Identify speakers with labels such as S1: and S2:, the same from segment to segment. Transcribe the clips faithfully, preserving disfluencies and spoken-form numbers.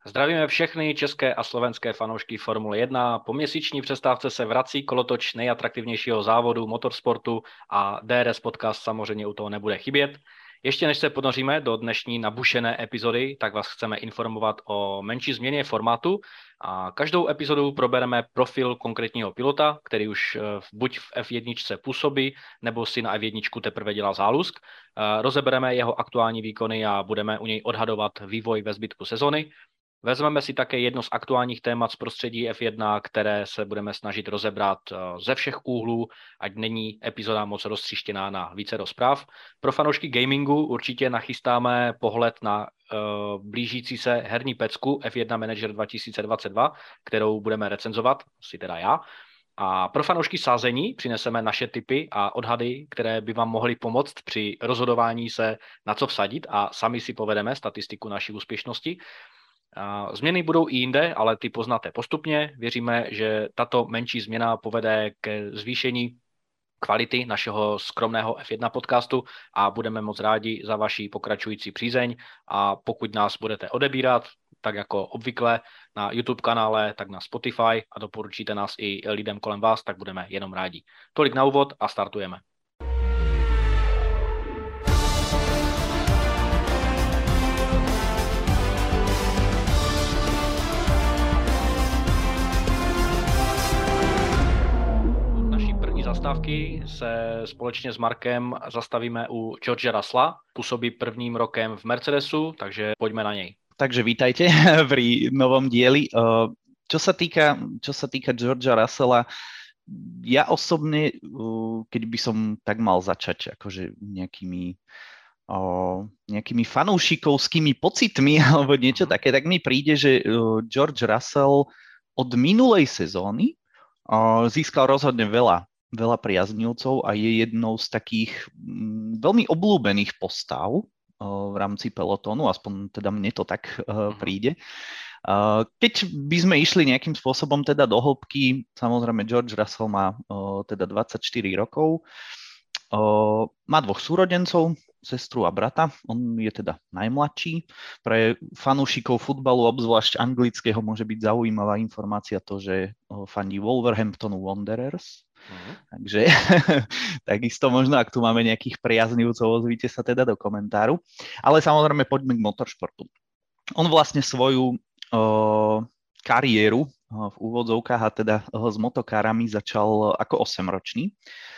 S1: Zdravíme všechny české a slovenské fanoušky Formule jedna. Po měsíční přestávce se vrací kolotoč nejatraktivnějšího závodu motorsportu a D R S podcast samozřejmě u toho nebude chybět. Ještě než se ponoříme do dnešní nabušené epizody, tak vás chceme informovat o menší změně formátu. A každou epizodu probereme profil konkrétního pilota, který už buď v F jedna působí, nebo si na F jedna teprve dělá zálusk. Rozebereme jeho aktuální výkony a budeme u něj odhadovat vývoj ve zbytku sezony. Vezmeme si také jedno z aktuálních témat z prostředí F jedna, které se budeme snažit rozebrat ze všech úhlů, ať není epizoda moc roztříštěná na více rozpráv. Pro fanoušky gamingu určitě nachystáme pohled na uh, blížící se herní pecku F jedna Manager dva tisíce dvacet dva, kterou budeme recenzovat, si teda já. A pro fanoušky sázení přineseme naše tipy a odhady, které by vám mohly pomoct při rozhodování se, na co vsadit, a sami si povedeme statistiku naší úspěšnosti. Změny budou i jinde, ale ty poznáte postupně. Věříme, že tato menší změna povede ke zvýšení kvality našeho skromného F jedna podcastu a budeme moc rádi za vaši pokračující přízeň. A pokud nás budete odebírat, tak jako obvykle na YouTube kanále, tak na Spotify a doporučíte nás i lidem kolem vás, tak budeme jenom rádi. Tolik na úvod a startujeme. Zastávky se společně s Markem zastavíme u George Russella. Působí prvním rokem v Mercedesu, takže poďme na něj.
S2: Takže vítajte pri novom dieli. Čo sa týka, čo sa týka Georgea Russella, ja osobne, keď by som tak mal začať akože nejakými, nejakými fanúšikovskými pocitmi alebo niečo také, tak mi príde, že George Russell od minulej sezóny získal rozhodne veľa veľa priaznivcov a je jednou z takých mm, veľmi obľúbených postav uh, v rámci pelotónu, aspoň teda mne to tak uh, príde. Uh, keď by sme išli nejakým spôsobom teda do hĺbky, samozrejme George Russell má uh, teda dvadsaťštyri rokov, uh, má dvoch súrodencov, sestru a brata, on je teda najmladší. Pre fanúšikov futbalu, obzvlášť anglického, môže byť zaujímavá informácia to, že uh, fandí Wolverhamptonu Wanderers. Uh-huh. Takže takisto možno, ak tu máme nejakých priaznivcov, ozvíte sa teda do komentáru. Ale samozrejme poďme k motoršportu. On vlastne svoju uh, kariéru uh, v úvodzovkách a teda uh, s motokárami začal ako osemročný.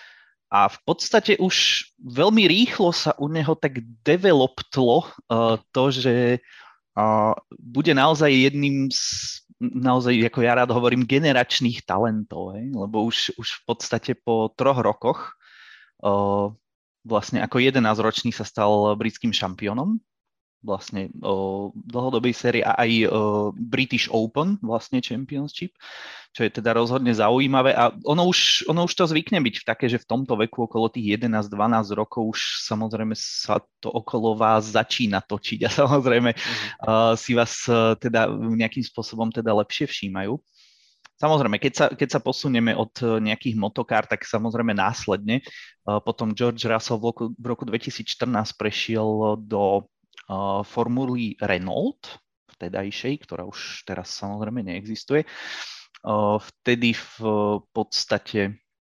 S2: A v podstate už veľmi rýchlo sa u neho tak developtlo uh, to, že uh, bude naozaj jedným z naozaj, ako ja rád hovorím, generačných talentov, hej? Lebo už, už v podstate po troch rokoch uh, vlastne ako jedenásťročný sa stal britským šampiónom vlastne uh, dlhodobej série a aj uh, British Open vlastne Championship, čo je teda rozhodne zaujímavé a ono už, ono už to zvykne byť v také, že v tomto veku okolo tých jedenásť dvanásť rokov už samozrejme sa to okolo vás začína točiť a samozrejme uh, si vás uh, teda nejakým spôsobom teda lepšie všímajú. Samozrejme, keď sa, keď sa posunieme od nejakých motokár, tak samozrejme následne uh, potom George Russell v roku, v roku dvetisícštrnásť prešiel do uh, formuly Renault, vtedajšej, ktorá už teraz samozrejme neexistuje. Uh, vtedy v podstate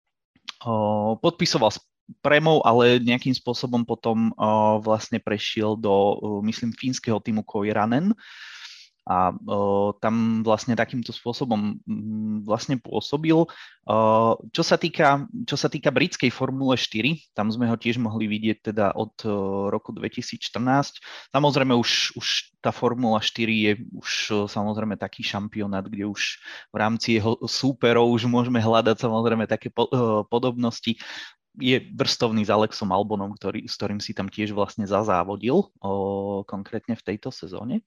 S2: uh, podpisoval s Premou, ale nejakým spôsobom potom uh, vlastne prešiel do, uh, myslím, fínskeho týmu Koiranen. A uh, tam vlastne takýmto spôsobom um, vlastne pôsobil. Uh, čo sa týka, čo sa týka britskej Formule štyri, tam sme ho tiež mohli vidieť teda od uh, roku dvetisícštrnásť. Samozrejme už, už tá Formula štyri je už uh, samozrejme taký šampionát, kde už v rámci jeho súperov už môžeme hľadať samozrejme také po, uh, podobnosti. Je vrstovný s Alexom Albonom, ktorý, s ktorým si tam tiež vlastne zazávodil uh, konkrétne v tejto sezóne.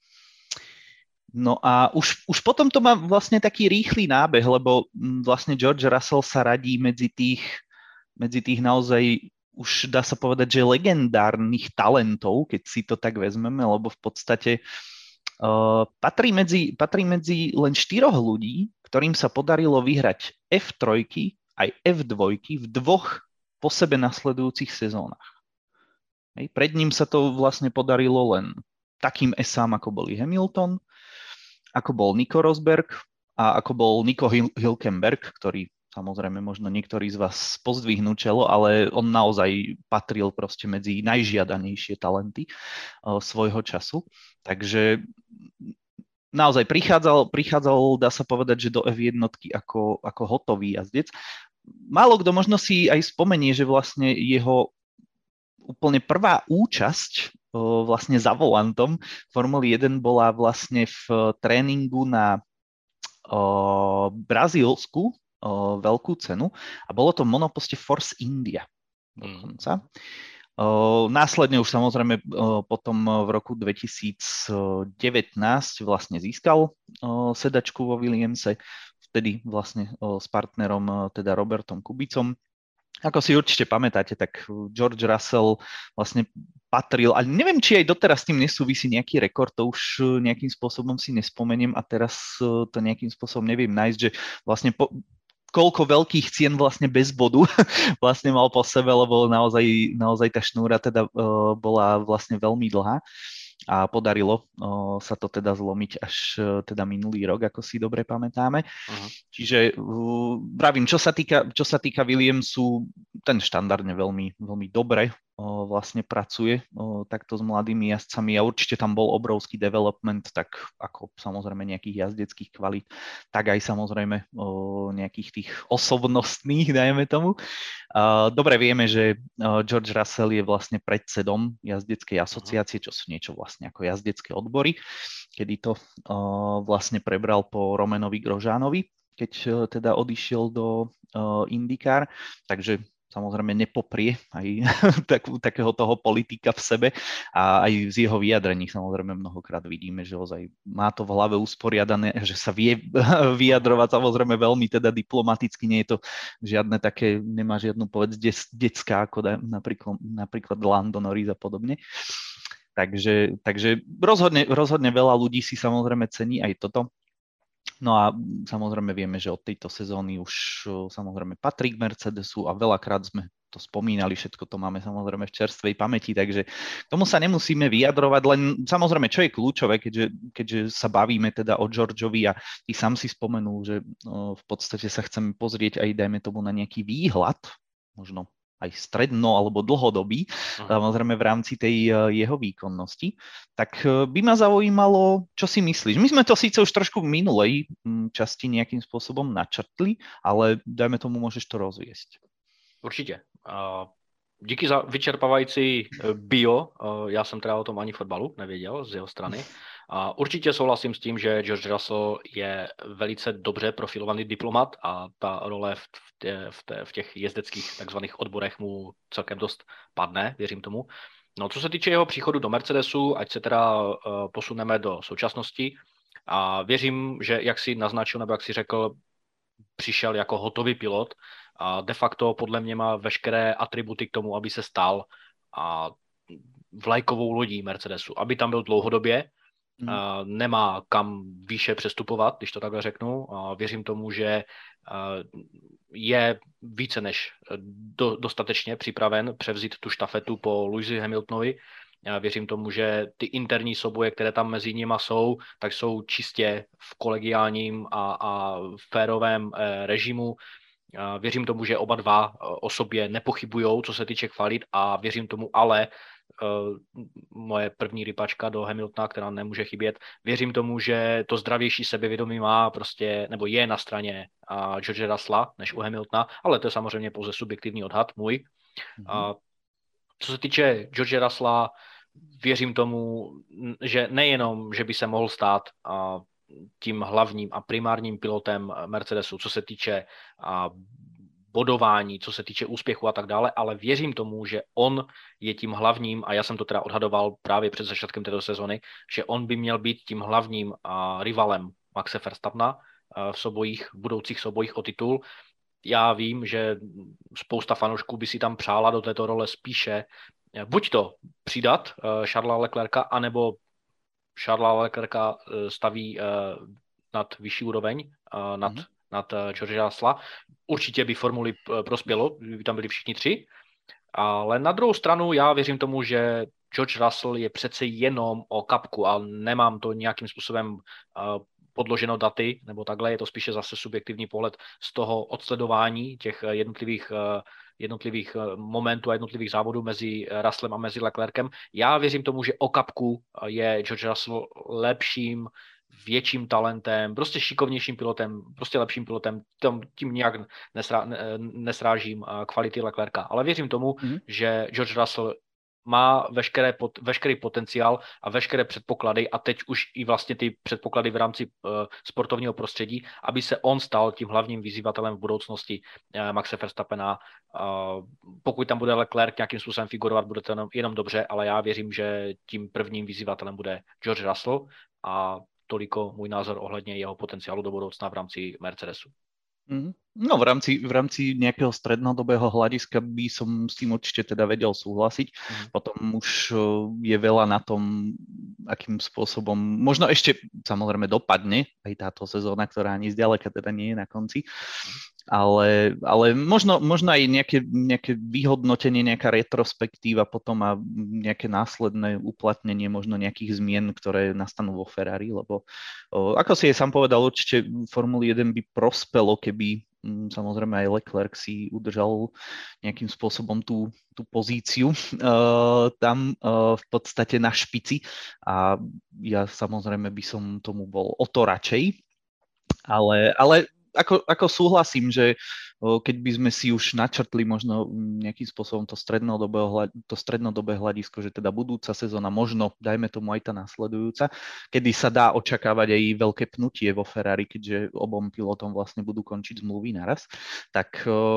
S2: No a už, už potom to má vlastne taký rýchly nábeh, lebo vlastne George Russell sa radí medzi tých, medzi tých naozaj, už dá sa povedať, že legendárnych talentov, keď si to tak vezmeme, lebo v podstate uh, patrí, medzi, patrí medzi len štyroch ľudí, ktorým sa podarilo vyhrať F tri aj F dva v dvoch po sebe nasledujúcich sezónach. Hej, pred ním sa to vlastne podarilo len takým esám, ako boli Hamilton, ako bol Nico Rosberg a ako bol Nico Hülkenberg, ktorý samozrejme možno niektorí z vás pozdvihnú čelo, ale on naozaj patril proste medzi najžiadanejšie talenty uh, svojho času. Takže naozaj prichádzal, prichádzal, dá sa povedať, že do ef jedna ako, ako hotový jazdec. Málo kto možno si aj spomenie, že vlastne jeho úplne prvá účasť uh, vlastne za volantom Formuly jeden bola vlastne v tréningu na uh, brazílsku O, veľkú cenu a bolo to v monoposte Force India dokonca. O, následne už samozrejme o, potom v roku dvetisícdevätnásť vlastne získal o, sedačku vo Williamse, vtedy vlastne o, s partnerom o, teda Robertom Kubicom. Ako si určite pamätáte, tak George Russell vlastne patril, ale neviem, či aj doteraz s tým nesúvisí nejaký rekord, to už nejakým spôsobom si nespomeniem a teraz to nejakým spôsobom neviem nájsť, že vlastne po, koľko veľkých cien vlastne bez bodu vlastne mal po sebe, lebo naozaj, naozaj tá šnúra teda uh, bola vlastne veľmi dlhá a podarilo uh, sa to teda zlomiť až uh, teda minulý rok, ako si dobre pamätáme. Uh-huh. Čiže uh, pravím, čo sa týka, čo sa týka Williamsu, ten štandardne veľmi, veľmi dobre uh, vlastne pracuje uh, takto s mladými jazdcami a určite tam bol obrovský development, tak ako samozrejme nejakých jazdeckých kvalít, tak aj samozrejme uh, nejakých tých osobnostných, dajme tomu. Uh, dobre vieme, že uh, George Russell je vlastne predsedom jazdeckej asociácie, čo sú niečo vlastne ako jazdecké odbory, kedy to uh, vlastne prebral po Romanovi Grosjeanovi, keď uh, teda odišiel do uh, IndyCar, takže samozrejme nepoprie aj takú, takého toho politika v sebe a aj z jeho vyjadrení samozrejme mnohokrát vidíme, že ozaj má to v hlave usporiadané, že sa vie vyjadrovať samozrejme veľmi teda diplomaticky, nie je to žiadne také, nemá žiadnu povedz detská, ako da, napríklad, napríklad Lando Norris a podobne. Takže, takže rozhodne, rozhodne veľa ľudí si samozrejme cení aj toto. No a samozrejme vieme, že od tejto sezóny už samozrejme patrí k Mercedesu a veľakrát sme to spomínali, všetko to máme samozrejme v čerstvej pamäti, takže tomu sa nemusíme vyjadrovať, len samozrejme, čo je kľúčové, keďže, keďže sa bavíme teda o Georgeovi a ty sám si spomenul, že no, v podstate sa chceme pozrieť aj, dajme tomu, na nejaký výhľad, možno aj stredno alebo dlhodobý, samozrejme v rámci tej jeho výkonnosti, tak by ma zaujímalo, čo si myslíš. My sme to síce už trošku v minulej časti nejakým spôsobom načrtli, ale dajme tomu, môžeš to rozviesť.
S1: Určitě. Díky za vyčerpávající bio. Já jsem teda o tom ani fotbalu nevěděl z jeho strany. A určitě souhlasím s tím, že George Russell je velice dobře profilovaný diplomat a ta role v, tě, v, té, v těch jezdeckých takzvaných odborech mu celkem dost padne, věřím tomu. No, co se týče jeho příchodu do Mercedesu, ať se teda uh, posuneme do současnosti a věřím, že jak si naznačil, nebo jak si řekl, přišel jako hotový pilot a de facto podle mě má veškeré atributy k tomu, aby se stal a vlajkovou lodí Mercedesu, aby tam byl dlouhodobě. Hmm. Nemá kam výše přestupovat, když to takhle řeknu. Věřím tomu, že je více než do, dostatečně připraven převzít tu štafetu po Lewisi Hamiltonovi. Já věřím tomu, že ty interní souboje, které tam mezi nimi jsou, tak jsou čistě v kolegiálním a, a férovém režimu. Věřím tomu, že oba dva o sobě nepochybujou, co se týče kvalit a věřím tomu ale, Uh, moje první rypačka do Hamiltona, která nemůže chybět. Věřím tomu, že to zdravější sebevědomí má prostě, nebo je na straně uh, George Russella než u Hamiltona, ale to je samozřejmě pouze subjektivní odhad můj. Mm-hmm. Uh, co se týče George Russella, věřím tomu, že nejenom, že by se mohl stát uh, tím hlavním a primárním pilotem Mercedesu, co se týče uh, bodování, co se týče úspěchu a tak dále, ale věřím tomu, že on je tím hlavním, a já jsem to teda odhadoval právě před začátkem této sezony, že on by měl být tím hlavním uh, rivalem Maxe Verstappena uh, v sobojích, v budoucích sobojích o titul. Já vím, že spousta fanoušků by si tam přála do této role spíše uh, buď to přidat uh, Charlesa Leclerca, anebo Charlesa Leclerca uh, staví uh, nad vyšší úroveň, uh, nad mm-hmm. nad George Russella. Určitě by formuli prospělo, by tam byli všichni tři, ale na druhou stranu já věřím tomu, že George Russell je přece jenom o kapku a nemám to nějakým způsobem uh, podloženo daty, nebo takhle, je to spíše zase subjektivní pohled z toho odsledování těch jednotlivých, jednotlivých momentů a jednotlivých závodů mezi Russellem a mezi Leclerkem. Já věřím tomu, že o kapku je George Russell lepším, větším talentem, prostě šikovnějším pilotem, prostě lepším pilotem, tím nějak nesrá, nesrážím kvality Leclerca. Ale věřím tomu, mm-hmm. že George Russell má veškeré, pot, veškerý potenciál a veškeré předpoklady a teď už i vlastně ty předpoklady v rámci uh, sportovního prostředí, aby se on stal tím hlavním vyzývatelem v budoucnosti uh, Maxe Verstappena. Uh, pokud tam bude Leclerc nějakým způsobem figurovat, bude to jenom, jenom dobře, ale já věřím, že tím prvním vyzývatelem bude George Russell a toliko můj názor ohledně jeho potenciálu do budoucna v rámci Mercedesu.
S2: No v rámci, v rámci nejakého strednodobého hľadiska by som s tým určite teda vedel súhlasiť. Mm. Potom už je veľa na tom, akým spôsobom, možno ešte samozrejme dopadne aj táto sezóna, ktorá ani zďaleka teda nie je na konci, ale, ale možno, možno aj nejaké, nejaké vyhodnotenie, nejaká retrospektíva potom a nejaké následné uplatnenie možno nejakých zmien, ktoré nastanú vo Ferrari, lebo o, ako si je sám povedal, určite Formuli jeden by prospelo, keby samozrejme aj Leclerc si udržal nejakým spôsobom tú, tú pozíciu uh, tam uh, v podstate na špici a ja samozrejme by som tomu bol o to radšej, ale, ale ako, ako súhlasím, že keď by sme si už načrtli možno nejakým spôsobom to strednodobé, to strednodobé hľadisko, že teda budúca sezóna, možno dajme tomu aj tá nasledujúca, kedy sa dá očakávať aj veľké pnutie vo Ferrari, keďže obom pilotom vlastne budú končiť zmluvy naraz, tak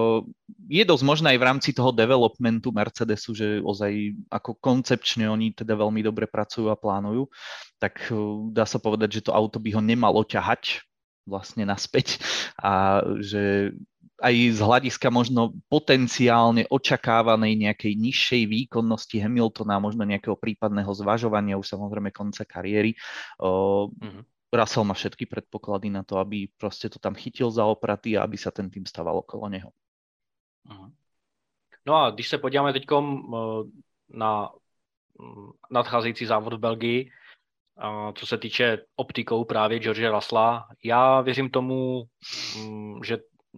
S2: je dosť možné aj v rámci toho developmentu Mercedesu, že ozaj ako koncepčne oni teda veľmi dobre pracujú a plánujú, tak dá sa povedať, že to auto by ho nemalo ťahať vlastne naspäť a že aj z hľadiska možno potenciálne očakávanej nejakej nižšej výkonnosti Hamiltona, možno nejakého prípadného zvažovania už samozrejme konca kariéry, o, mm-hmm. Russell má všetky predpoklady na to, aby proste to tam chytil za opraty a aby sa ten tým stával okolo neho.
S1: Mm-hmm. No a když se podíváme teďkom na nadcházející závod v Belgii, co se týče optikou právě George Russella, já věřím tomu, že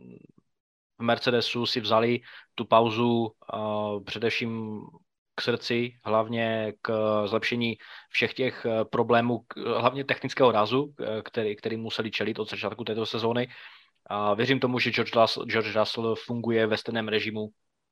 S1: v Mercedesu si vzali tu pauzu především k srdci, hlavně k zlepšení všech těch problémů, hlavně technického rázu, který, který museli čelit od začátku této sezóny. A věřím tomu, že George Russell, George Russell funguje ve stejném režimu,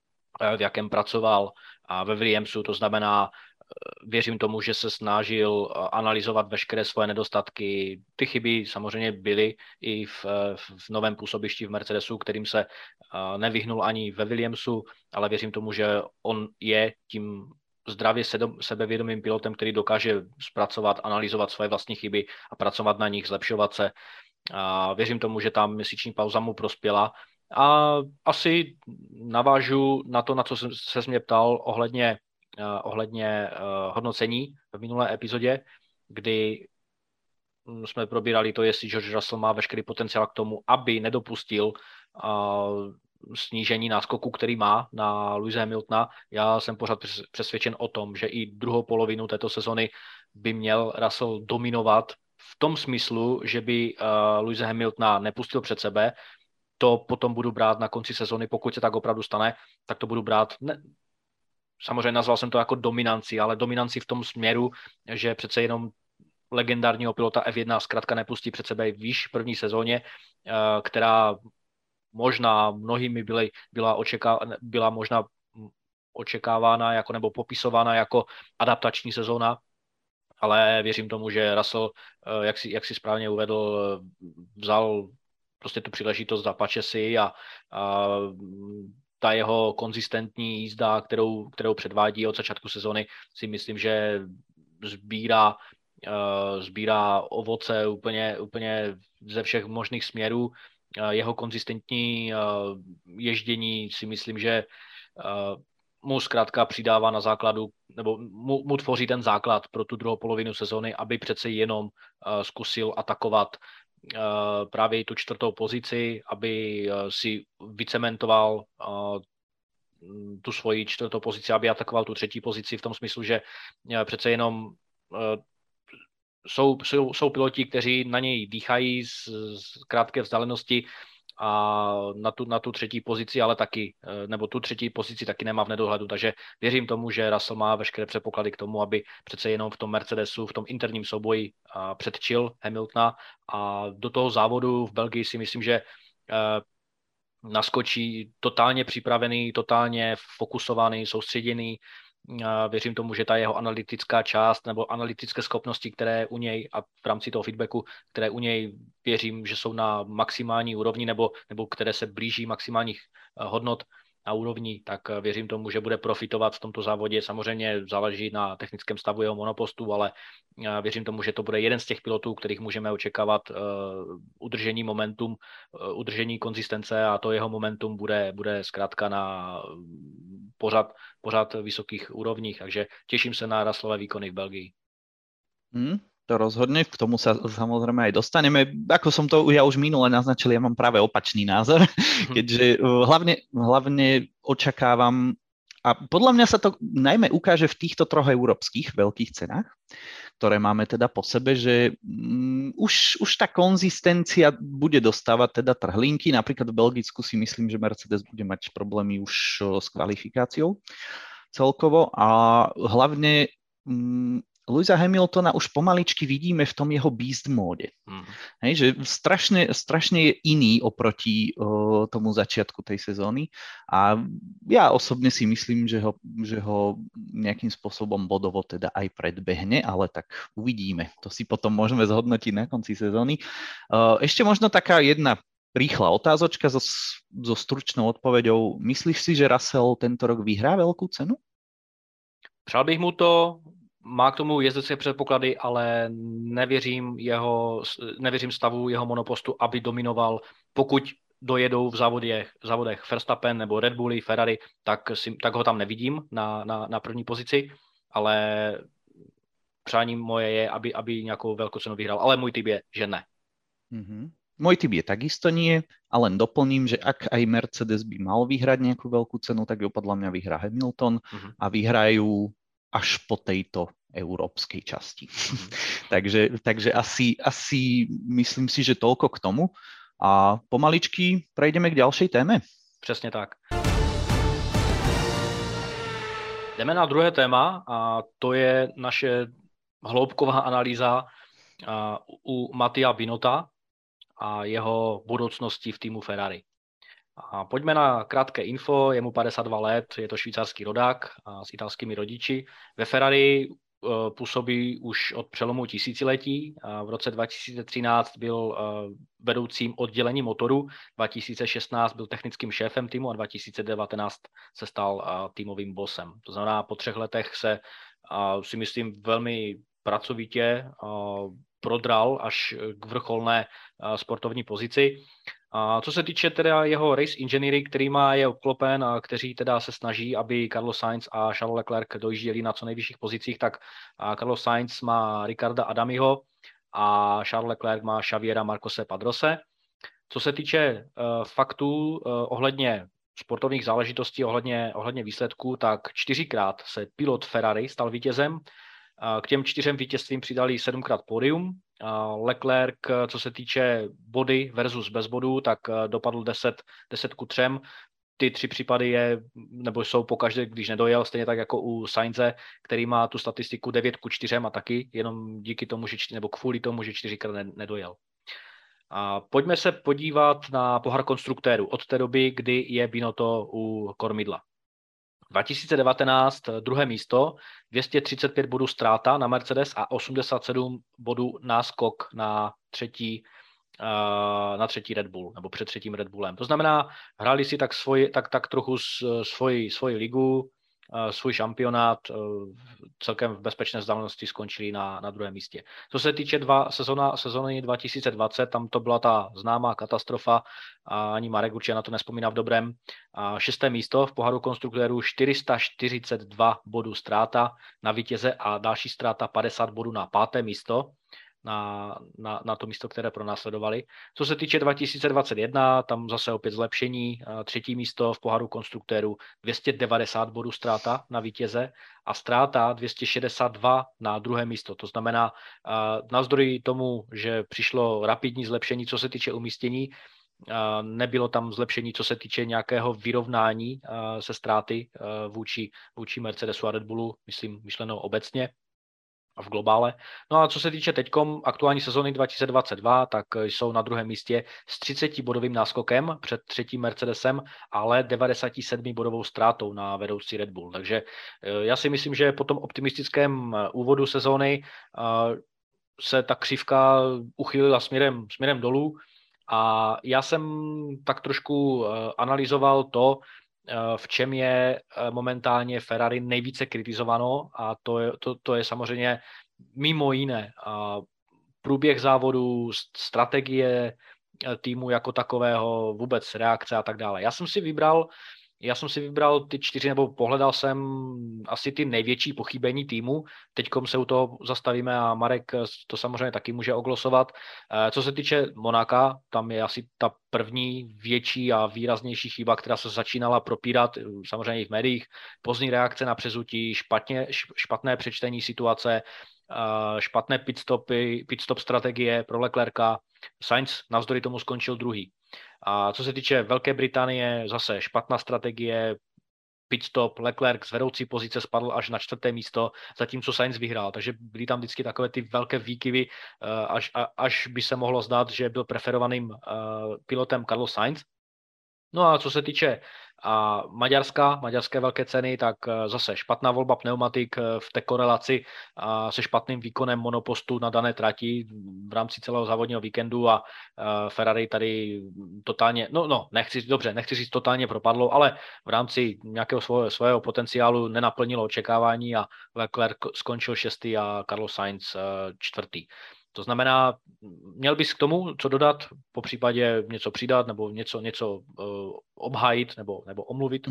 S1: v jakém pracoval a ve Williamsu, to znamená, věřím tomu, že se snažil analyzovat veškeré svoje nedostatky. Ty chyby samozřejmě byly i v, v novém působišti v Mercedesu, kterým se nevyhnul ani ve Williamsu, ale věřím tomu, že on je tím zdravě sebevědomým pilotem, který dokáže zpracovat, analyzovat svoje vlastní chyby a pracovat na nich, zlepšovat se. A věřím tomu, že ta měsíční pauza mu prospěla. A asi navážu na to, na co se mě ptal ohledně Uh, ohledně uh, hodnocení v minulé epizodě, kdy um, jsme probírali to, jestli George Russell má veškerý potenciál k tomu, aby nedopustil uh, snížení náskoku, který má na Lewise Hamiltona. Já jsem pořád přesvědčen o tom, že i druhou polovinu této sezony by měl Russell dominovat v tom smyslu, že by uh, Lewise Hamiltona nepustil před sebe. To potom budu brát na konci sezony, pokud se tak opravdu stane, tak to budu brát... Ne, samozřejmě nazval jsem to jako dominanci, ale dominanci v tom směru, že přece jenom legendárního pilota F jedna zkrátka nepustí před sebe výš v první sezóně, která možná mnohými byly, byla, očeká, byla možná očekávána jako, nebo popisována jako adaptační sezóna, ale věřím tomu, že Russell, jak si, jak si správně uvedl, vzal prostě tu příležitost, zapače si a, a ta jeho konzistentní jízda, kterou, kterou předvádí od začátku sezony, si myslím, že sbírá, uh, sbírá ovoce úplně, úplně ze všech možných směrů. Uh, jeho konzistentní uh, ježdění si myslím, že uh, mu zkrátka přidává na základu, nebo mu, mu tvoří ten základ pro tu druhou polovinu sezony, aby přece jenom uh, zkusil atakovat Uh, právě tu čtvrtou pozici, aby uh, si vycementoval uh, tu svoji čtvrtou pozici, aby atakoval tu třetí pozici v tom smyslu, že uh, přece jenom uh, jsou, jsou, jsou piloti, kteří na něj dýchají z, z krátké vzdálenosti a na tu, na tu třetí pozici, ale taky, nebo tu třetí pozici taky nemá v nedohledu, takže věřím tomu, že Russell má veškeré předpoklady k tomu, aby přece jenom v tom Mercedesu, v tom interním souboji předčil Hamiltona a do toho závodu v Belgii si myslím, že naskočí totálně připravený, totálně fokusovaný, soustředěný. Věřím tomu, že ta jeho analytická část nebo analytické schopnosti, které u něj a v rámci toho feedbacku, které u něj věřím, že jsou na maximální úrovni nebo, nebo které se blíží maximálních hodnot a úrovní, tak věřím tomu, že bude profitovat v tomto závodě. Samozřejmě záleží na technickém stavu jeho monopostu, ale věřím tomu, že to bude jeden z těch pilotů, kterých můžeme očekávat uh, udržení momentum, uh, udržení konzistence a to jeho momentum bude, bude zkrátka na pořád, pořád vysokých úrovních. Takže těším se na Russellové výkony v Belgii.
S2: Hmm. To rozhodne, k tomu sa samozrejme aj dostaneme. Ako som to ja už minule naznačil, ja mám práve opačný názor, keďže hlavne, hlavne očakávam, a podľa mňa sa to najmä ukáže v týchto troch európskych veľkých cenách, ktoré máme teda po sebe, že um, už, už tá konzistencia bude dostávať teda trhlinky. Napríklad v Belgicku si myslím, že Mercedes bude mať problémy už s kvalifikáciou celkovo a hlavne um, Lewisa Hamiltona už pomaličky vidíme v tom jeho beast móde. Mm. Hej, že strašne, strašne je iný oproti uh, tomu začiatku tej sezóny a ja osobne si myslím, že ho, že ho nejakým spôsobom bodovo teda aj predbehne, ale tak uvidíme. To si potom môžeme zhodnotiť na konci sezóny. Uh, ešte možno taká jedna rýchla otázočka so, so stručnou odpoveďou. Myslíš si, že Russell tento rok vyhrá veľkú cenu?
S1: Přál bych mu to. Má k tomu jezdecké předpoklady, ale nevěřím, jeho, nevěřím stavu jeho monopostu, aby dominoval. Pokud dojedou v závodech, v závodech Verstappen nebo Red Bulli, Ferrari, tak, si, tak ho tam nevidím na, na, na první pozici, ale přání moje je, aby, aby nějakou velkou cenu vyhrál. Ale můj typ je, že ne.
S2: Mm-hmm. Môj typ je takisto nie, a len doplním, že ak aj Mercedes by mal vyhrať nejakú veľkú cenu, tak ju podľa mňa vyhrá Hamilton mm-hmm. a vyhrajú až po tejto európskej časti. takže takže asi, asi myslím si, že toľko k tomu. A pomaličky prejdeme k ďalšej téme.
S1: Přesně tak. Jdeme na druhé téma a to je naše hloubková analýza u Mattia Binotto a jeho budoucnosti v týmu Ferrari. A pojďme na krátké info, je mu padesát dva let, je to švýcarský rodák a s italskými rodiči. Ve Ferrari uh, působí už od přelomu tisíciletí. A v roce dva tisíce třináct byl uh, vedoucím oddělení motoru, dva tisíce šestnáct byl technickým šéfem týmu a dva tisíce devatenáct se stal uh, týmovým bossem. To znamená, po třech letech se uh, si myslím velmi pracovitě uh, prodral až k vrcholné uh, sportovní pozici. A co se týče teda jeho race engineering, kterýma je obklopen a kteří teda se snaží, aby Carlos Sainz a Charles Leclerc dojížděli na co nejvyšších pozicích, tak Carlos Sainz má Ricarda Adamiho a Charles Leclerc má Xaviera Marcose Padrose. Co se týče uh, faktů uh, ohledně sportovních záležitostí, ohledně, ohledně výsledků, tak čtyřikrát se pilot Ferrari stal vítězem. K těm čtyřem vítězstvím přidali sedmkrát pódium. Leclerc, co se týče body versus bez bodů, tak dopadl deset, deset ku třem. Ty tři případy je, nebo jsou pokaždé, když nedojel, stejně tak jako u Sainze, který má tu statistiku devět ku čtyřem a taky jenom díky tomu, že čtyři, nebo kvůli tomu, že čtyřikrát nedojel. A pojďme se podívat na pohár konstruktérů od té doby, kdy je Binotto u kormidla. dva tisíce devatenáct druhé místo, dvě stě třicet pět bodů ztráta na Mercedes a osmdesát sedm bodů náskok na třetí, na třetí Red Bull, nebo před třetím Red Bullem. To znamená, hráli si tak, svoj, tak, tak trochu svoji, svoji ligu, svůj šampionát, celkem v bezpečné vzdálenosti skončili na, na druhém místě. Co se týče dva, sezona, sezony dva tisíce dvacet, tam to byla ta známá katastrofa, a ani Marek určitě na to nespomíná v dobrém. A šesté místo v poháru konstruktérů, čtyři sta čtyřicet dva bodů ztráta na vítěze a další ztráta padesát bodů na páté místo. na, na, na to místo, které pronásledovali. Co se týče dva tisíce dvacet jedna, tam zase opět zlepšení, třetí místo v poháru konstruktérů, dvě stě devadesát bodů ztráta na vítěze a ztráta dvě stě šedesát dva na druhé místo. To znamená, navzdory tomu, že přišlo rapidní zlepšení, co se týče umístění, nebylo tam zlepšení, co se týče nějakého vyrovnání se ztráty vůči, vůči Mercedesu a Red Bullu, myslím, myšleno obecně a v globále. No a co se týče teďkom aktuální sezóny dva tisíce dvacet dva, tak jsou na druhém místě s třicetibodovým náskokem před třetím Mercedesem, ale devadesát sedm bodovou ztrátou na vedoucí Red Bull. Takže já si myslím, že po tom optimistickém úvodu sezóny se ta křivka uchýlila směrem, směrem dolů. A já jsem tak trošku analyzoval to, v čem je momentálně Ferrari nejvíce kritizováno, a to je, to, to je samozřejmě mimo jiné průběh závodu, strategie týmu jako takového, vůbec reakce a tak dále. Já jsem si vybral Já jsem si vybral ty čtyři, nebo pohledal jsem asi ty největší pochybení týmu. Teďkom se u toho zastavíme a Marek to samozřejmě taky může oglosovat. Co se týče Monaka, tam je asi ta první větší a výraznější chyba, která se začínala propírat, samozřejmě i v médiích. Pozdní reakce na přezutí, špatně, špatné přečtení situace, špatné pitstopy, pitstop strategie pro Leclerca. Sainz navzdory tomu skončil druhý. A co se týče Velké Británie, zase špatná strategie, pitstop, Leclerc z vedoucí pozice spadl až na čtvrté místo, zatímco Sainz vyhrál. Takže byly tam vždycky takové ty velké výkyvy, až, až by se mohlo zdát, že byl preferovaným pilotem Carlos Sainz. No a co se týče a Maďarska, maďarské velké ceny, tak zase špatná volba pneumatik v té korelaci a se špatným výkonem monopostu na dané trati v rámci celého závodního víkendu a Ferrari tady totálně, no, no nechci, dobře, nechci říct totálně propadlo, ale v rámci nějakého svého, svého potenciálu nenaplnilo očekávání a Leclerc skončil šestý a Carlos Sainz čtvrtý. To znamená, měl bys k tomu co dodat, po případě něco přidat nebo něco, něco uh, obhájit nebo, nebo omluvit?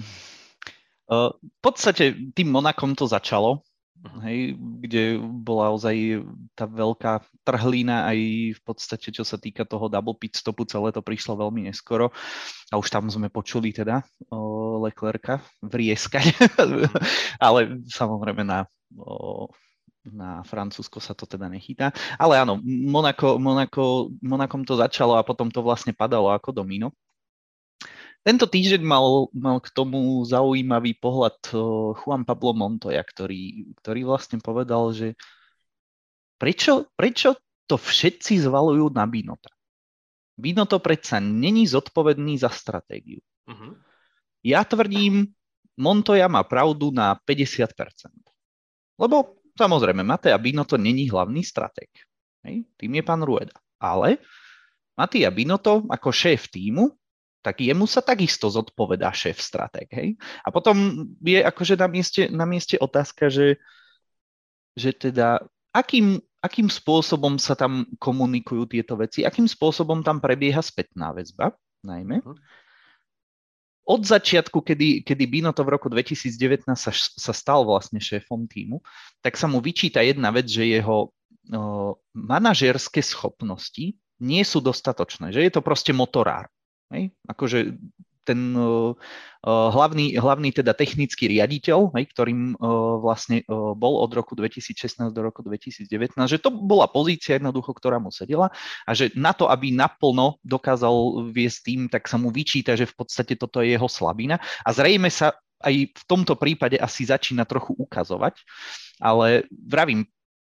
S2: Uh, v podstate tým Monakom to začalo, uh-huh. hej, kde bola ozaj tá veľká trhlína aj v podstate, čo sa týka toho double pit stopu, celé to prišlo veľmi neskoro a už tam sme počuli teda uh, Leclerca vrieskať, ale samozrejme na... Uh, na Francúzsko sa to teda nechytá. Ale áno, Monako, Monako, Monakom to začalo a potom to vlastne padalo ako domino. Tento týždeň mal, mal k tomu zaujímavý pohľad Juan Pablo Montoya, ktorý, ktorý vlastne povedal, že prečo, prečo to všetci zvalujú na Binota? Binotto predsa není zodpovedný za stratégiu. Uh-huh. Ja tvrdím, Montoya má pravdu na päťdesiat percent. Lebo samozrejme, Mattia Binotto není hlavný stratég. Hej? Tým je pán Rueda. Ale Mattia Binotto ako šéf týmu, tak jemu sa takisto zodpovedá šéf stratég. Hej? A potom je akože na mieste, na mieste otázka, že, že teda akým, akým spôsobom sa tam komunikujú tieto veci, akým spôsobom tam prebieha spätná väzba, najmä. Od začiatku, kedy, kedy Binotto v roku dvetisícdevätnásť sa, sa stal vlastne šéfom týmu, tak sa mu vyčíta jedna vec, že jeho uh, manažerské schopnosti nie sú dostatočné, že je to proste motorár. Hej? Akože ten uh, hlavný, hlavný teda technický riaditeľ, hej, ktorým uh, vlastne uh, bol od roku dvetisícšestnásť do roku dvetisícdevätnásť, že to bola pozícia jednoducho, ktorá mu sedela a že na to, aby naplno dokázal viesť tým, tak sa mu vyčíta, že v podstate toto je jeho slabina a zrejme sa aj v tomto prípade asi začína trochu ukazovať, ale vravím,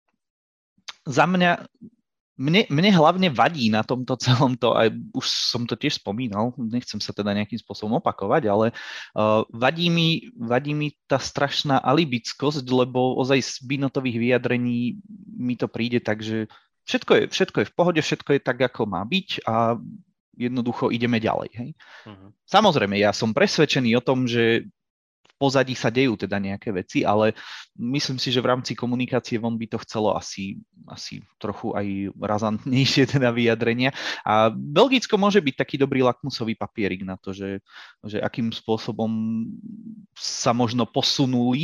S2: za mňa Mne, mne hlavne vadí na tomto celom to, aj už som to tiež spomínal, nechcem sa teda nejakým spôsobom opakovať, ale uh, vadí, mi, vadí mi tá strašná alibickosť, lebo ozaj z Binottových vyjadrení mi to príde tak, že všetko je, všetko je v pohode, všetko je tak, ako má byť a jednoducho ideme ďalej. Hej? Uh-huh. Samozrejme, ja som presvedčený o tom, že v pozadí sa dejú teda nejaké veci, ale myslím si, že v rámci komunikácie von by to chcelo asi, asi trochu aj razantnejšie teda vyjadrenia. A Belgicko môže byť taký dobrý lakmusový papierik na to, že, že akým spôsobom sa možno posunuli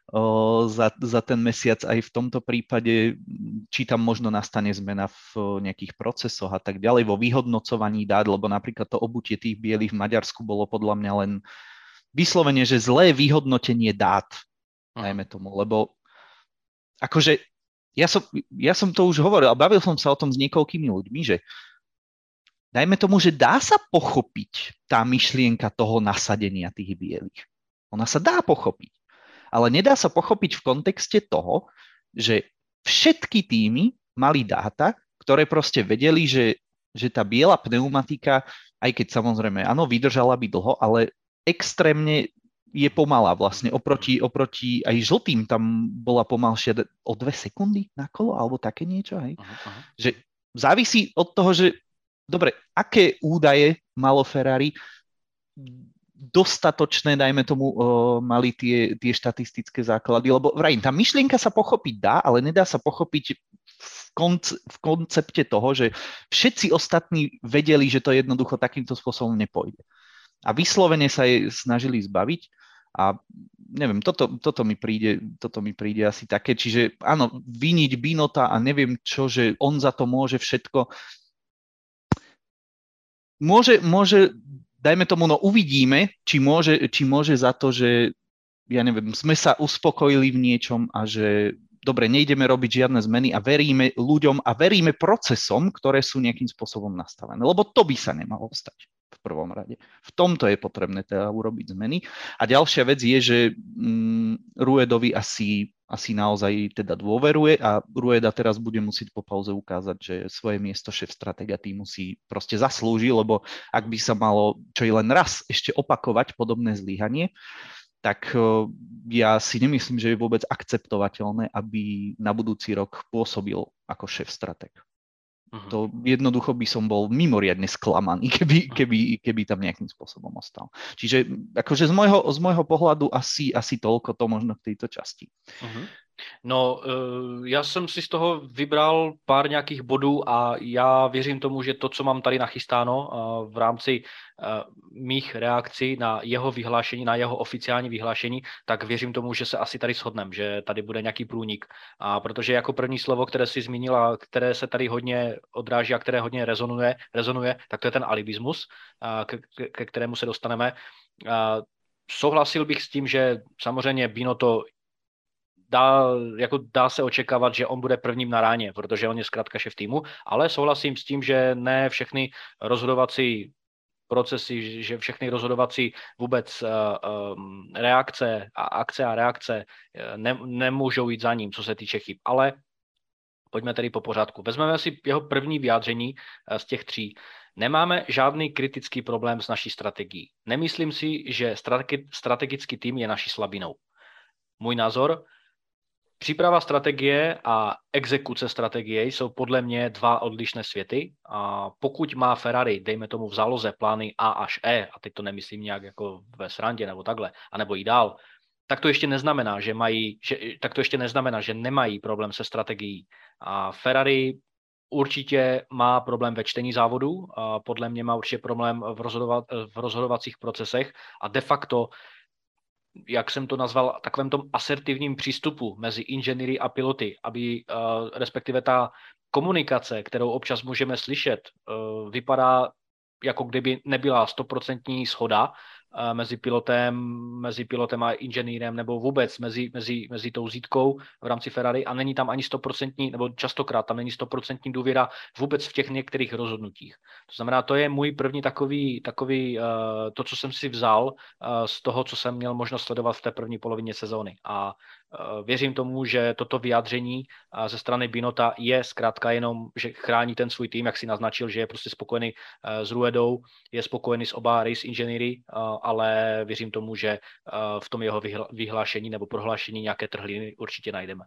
S2: o, za, za ten mesiac aj v tomto prípade, či tam možno nastane zmena v nejakých procesoch a tak ďalej, vo vyhodnocovaní dát, lebo napríklad to obutie tých bielých v Maďarsku bolo podľa mňa len vyslovene, že zlé vyhodnotenie dát, dajme tomu, lebo akože ja som, ja som to už hovoril a bavil som sa o tom s niekoľkými ľuďmi, že dajme tomu, že dá sa pochopiť tá myšlienka toho nasadenia tých bielých. Ona sa dá pochopiť, ale nedá sa pochopiť v kontexte toho, že všetky týmy mali dáta, ktoré proste vedeli, že, že tá biela pneumatika, aj keď samozrejme, áno, vydržala by dlho, ale extrémne je pomalá vlastne. Oproti, oproti aj žltým tam bola pomalšia o dve sekundy na kolo, alebo také niečo. Hej? Aha, aha. Že závisí od toho, že dobre, aké údaje malo Ferrari, dostatočné, dajme tomu, uh, mali tie, tie štatistické základy, lebo vrajím, tá myšlienka sa pochopiť dá, ale nedá sa pochopiť v, konce, v koncepte toho, že všetci ostatní vedeli, že to jednoducho takýmto spôsobom nepôjde. A vyslovene sa jej snažili zbaviť a neviem, toto, toto, mi príde, toto mi príde asi také, čiže áno, viniť Binota a neviem čo, že on za to môže všetko. Môže, môže, dajme tomu, no uvidíme, či môže, či môže za to, že, ja neviem, sme sa uspokojili v niečom a že, dobre, nejdeme robiť žiadne zmeny a veríme ľuďom a veríme procesom, ktoré sú nejakým spôsobom nastavené. Lebo to by sa nemalo stať v prvom rade. V tomto je potrebné teda urobiť zmeny. A ďalšia vec je, že mm, Ruedovi asi... asi naozaj teda dôveruje a Rueda teraz bude musieť po pauze ukázať, že svoje miesto šéf stratega týmu si proste zaslúži, lebo ak by sa malo čo i len raz ešte opakovať podobné zlyhanie, tak ja si nemyslím, že je vôbec akceptovateľné, aby na budúci rok pôsobil ako šéf strateg. Uh-huh. To jednoducho by som bol mimoriadne sklamaný, keby, keby, keby tam nejakým spôsobom ostal. Čiže akože z môjho, z môjho pohľadu asi, asi toľko to možno v tejto časti.
S1: Uh-huh. No, já jsem si z toho vybral pár nějakých bodů a já věřím tomu, že to, co mám tady nachystáno v rámci mých reakcí na jeho vyhlášení, na jeho oficiální vyhlášení, tak věřím tomu, že se asi tady shodneme, že tady bude nějaký průnik. A protože jako první slovo, které si zmínila, které se tady hodně odráží a které hodně rezonuje, rezonuje tak to je ten alibismus, ke, ke kterému se dostaneme. Souhlasil bych s tím, že samozřejmě Binotto Dá, jako dá se očekávat, že on bude prvním na ráně, protože on je zkrátka šéf týmu, ale souhlasím s tím, že ne všechny rozhodovací procesy, že všechny rozhodovací vůbec uh, um, reakce a akce a reakce ne, nemůžou jít za ním, co se týče chyb. Ale pojďme tedy po pořádku. Vezmeme si jeho první vyjádření uh, z těch tří. Nemáme žádný kritický problém s naší strategií. Nemyslím si, že strategi- strategický tým je naší slabinou. Můj názor: příprava strategie a exekuce strategie jsou podle mě dva odlišné světy. A pokud má Ferrari, dejme tomu v záloze, plány A až E, a teď to nemyslím nějak jako ve srandě nebo takhle, anebo i dál, tak to ještě neznamená, že mají, že, tak to ještě neznamená, že nemají problém se strategií. A Ferrari určitě má problém ve čtení závodu, a podle mě má určitě problém v, rozhodova, v rozhodovacích procesech a de facto, jak jsem to nazval, takovém tom asertivním přístupu mezi inženýry a piloty, aby uh, respektive ta komunikace, kterou občas můžeme slyšet, uh, vypadá, jako kdyby nebyla stoprocentní shoda uh, mezi pilotem, mezi pilotem a inženýrem, nebo vůbec mezi, mezi, mezi tou zítkou v rámci Ferrari a není tam ani stoprocentní, nebo častokrát tam není stoprocentní důvěra vůbec v těch některých rozhodnutích. To znamená, to je můj první takový, takový uh, to, co jsem si vzal uh, z toho, co jsem měl možnost sledovat v té první polovině sezóny. A uh, věřím tomu, že toto vyjádření uh, ze strany Binotta je zkrátka jenom, že chrání ten svůj tým, jak si naznačil, že je prostě spokojený uh, s Ruedou, je spokojený s oba race inženýry, uh, ale věřím tomu, že uh, v tom jeho vyhlášení nebo prohlášení nějaké trhliny určitě najdeme.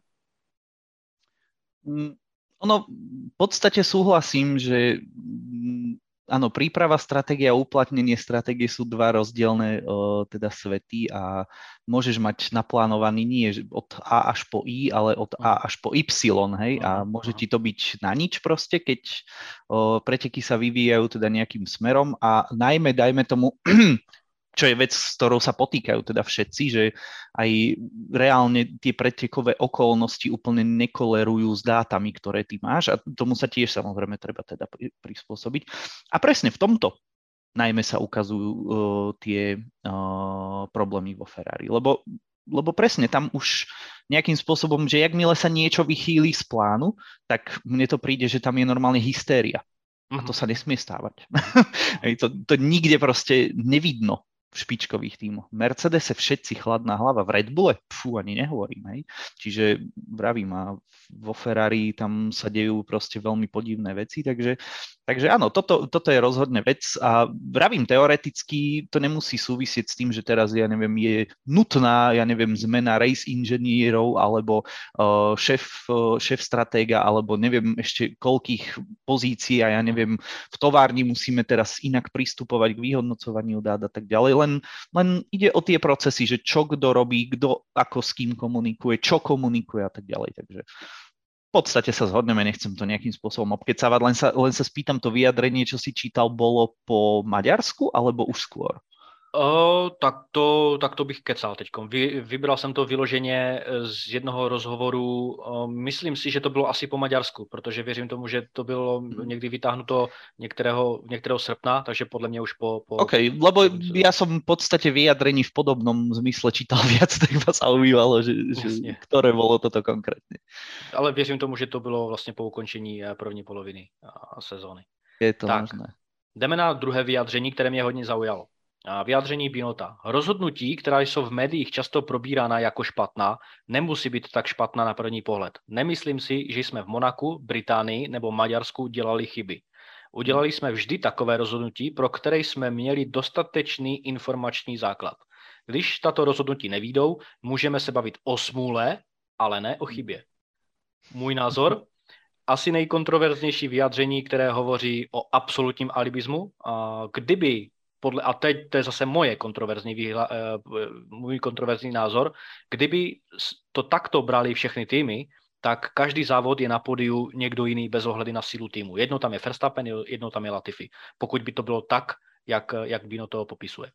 S2: Mm. Ono, v podstate súhlasím, že áno, príprava, stratégia a uplatnenie stratégie sú dva rozdielne uh, teda svety a môžeš mať naplánovaný nie od A až po I, ale od A až po Y, hej, a môže ti to byť na nič proste, keď uh, preteky sa vyvíjajú teda nejakým smerom a najmä, dajme tomu, čo je vec, s ktorou sa potýkajú teda všetci, že aj reálne tie pretekové okolnosti úplne nekolerujú s dátami, ktoré ty máš a tomu sa tiež samozrejme treba teda prispôsobiť. A presne v tomto najmä sa ukazujú uh, tie uh, problémy vo Ferrari, lebo, lebo presne tam už nejakým spôsobom, že jakmile sa niečo vychýli z plánu, tak mne to príde, že tam je normálne hystéria. A to sa nesmie stávať. to, to nikde proste nevidno v špičkových tímoch. Mercedese všetci chladná hlava, v Red Bulle, pfú, ani nehovorím, hej. Čiže vravím, a vo Ferrari tam sa dejú proste veľmi podivné veci, takže, takže áno, toto, toto je rozhodne vec a vravím, teoreticky to nemusí súvisieť s tým, že teraz, ja neviem, je nutná, ja neviem, zmena race inžinierov alebo uh, šéf, uh, šéf stratéga, alebo neviem ešte koľkých pozícií a ja neviem, v továrni musíme teraz inak pristupovať k vyhodnocovaniu dát a tak ďalej. Len, len ide o tie procesy, že čo kto robí, kto ako s kým komunikuje, čo komunikuje a tak ďalej. Takže v podstate sa zhodneme, nechcem to nejakým spôsobom obkecávať, len sa, len sa spýtam, to vyjadrenie, čo si čítal, bolo po Maďarsku alebo už skôr?
S1: O, tak, to, tak to bych kecal teďkom. Vy, vybral jsem to vyloženě z jednoho rozhovoru. O, myslím si, že to bylo asi po Maďarsku, protože věřím tomu, že to bylo někdy vytáhnuto některého, některého srpna, takže podle mě už po... po
S2: OK, lebo ja som v podstate vyjadrení v podobnom zmysle čítal viac, tak ma zaujímalo, že, že ktoré bolo toto konkrétne.
S1: Ale věřím tomu, že to bylo vlastně po ukončení první poloviny sezóny.
S2: Je to
S1: tak,
S2: možné.
S1: Jdeme na druhé vyjádření, které mě hodně zaujalo. Vyjádření Binota. Rozhodnutí, která jsou v médiích často probírána jako špatná, nemusí být tak špatná na první pohled. Nemyslím si, že jsme v Monaku, Británii nebo Maďarsku dělali chyby. Udělali jsme vždy takové rozhodnutí, pro které jsme měli dostatečný informační základ. Když tato rozhodnutí nevídou, můžeme se bavit o smůle, ale ne o chybě. Můj názor? Asi nejkontroverznější vyjádření, které hovoří o absolutním alibismu. Kdyby Podle, a teď to je zase moje kontroverzní výhla, můj kontroverzní názor, kdyby to takto brali všechny týmy, tak každý závod je na pódiu někdo jiný bez ohledy na sílu týmu. Jedno tam je Verstappen, jedno tam je Latifi. Pokud by to bylo tak, jak, jak Bino to popisuje.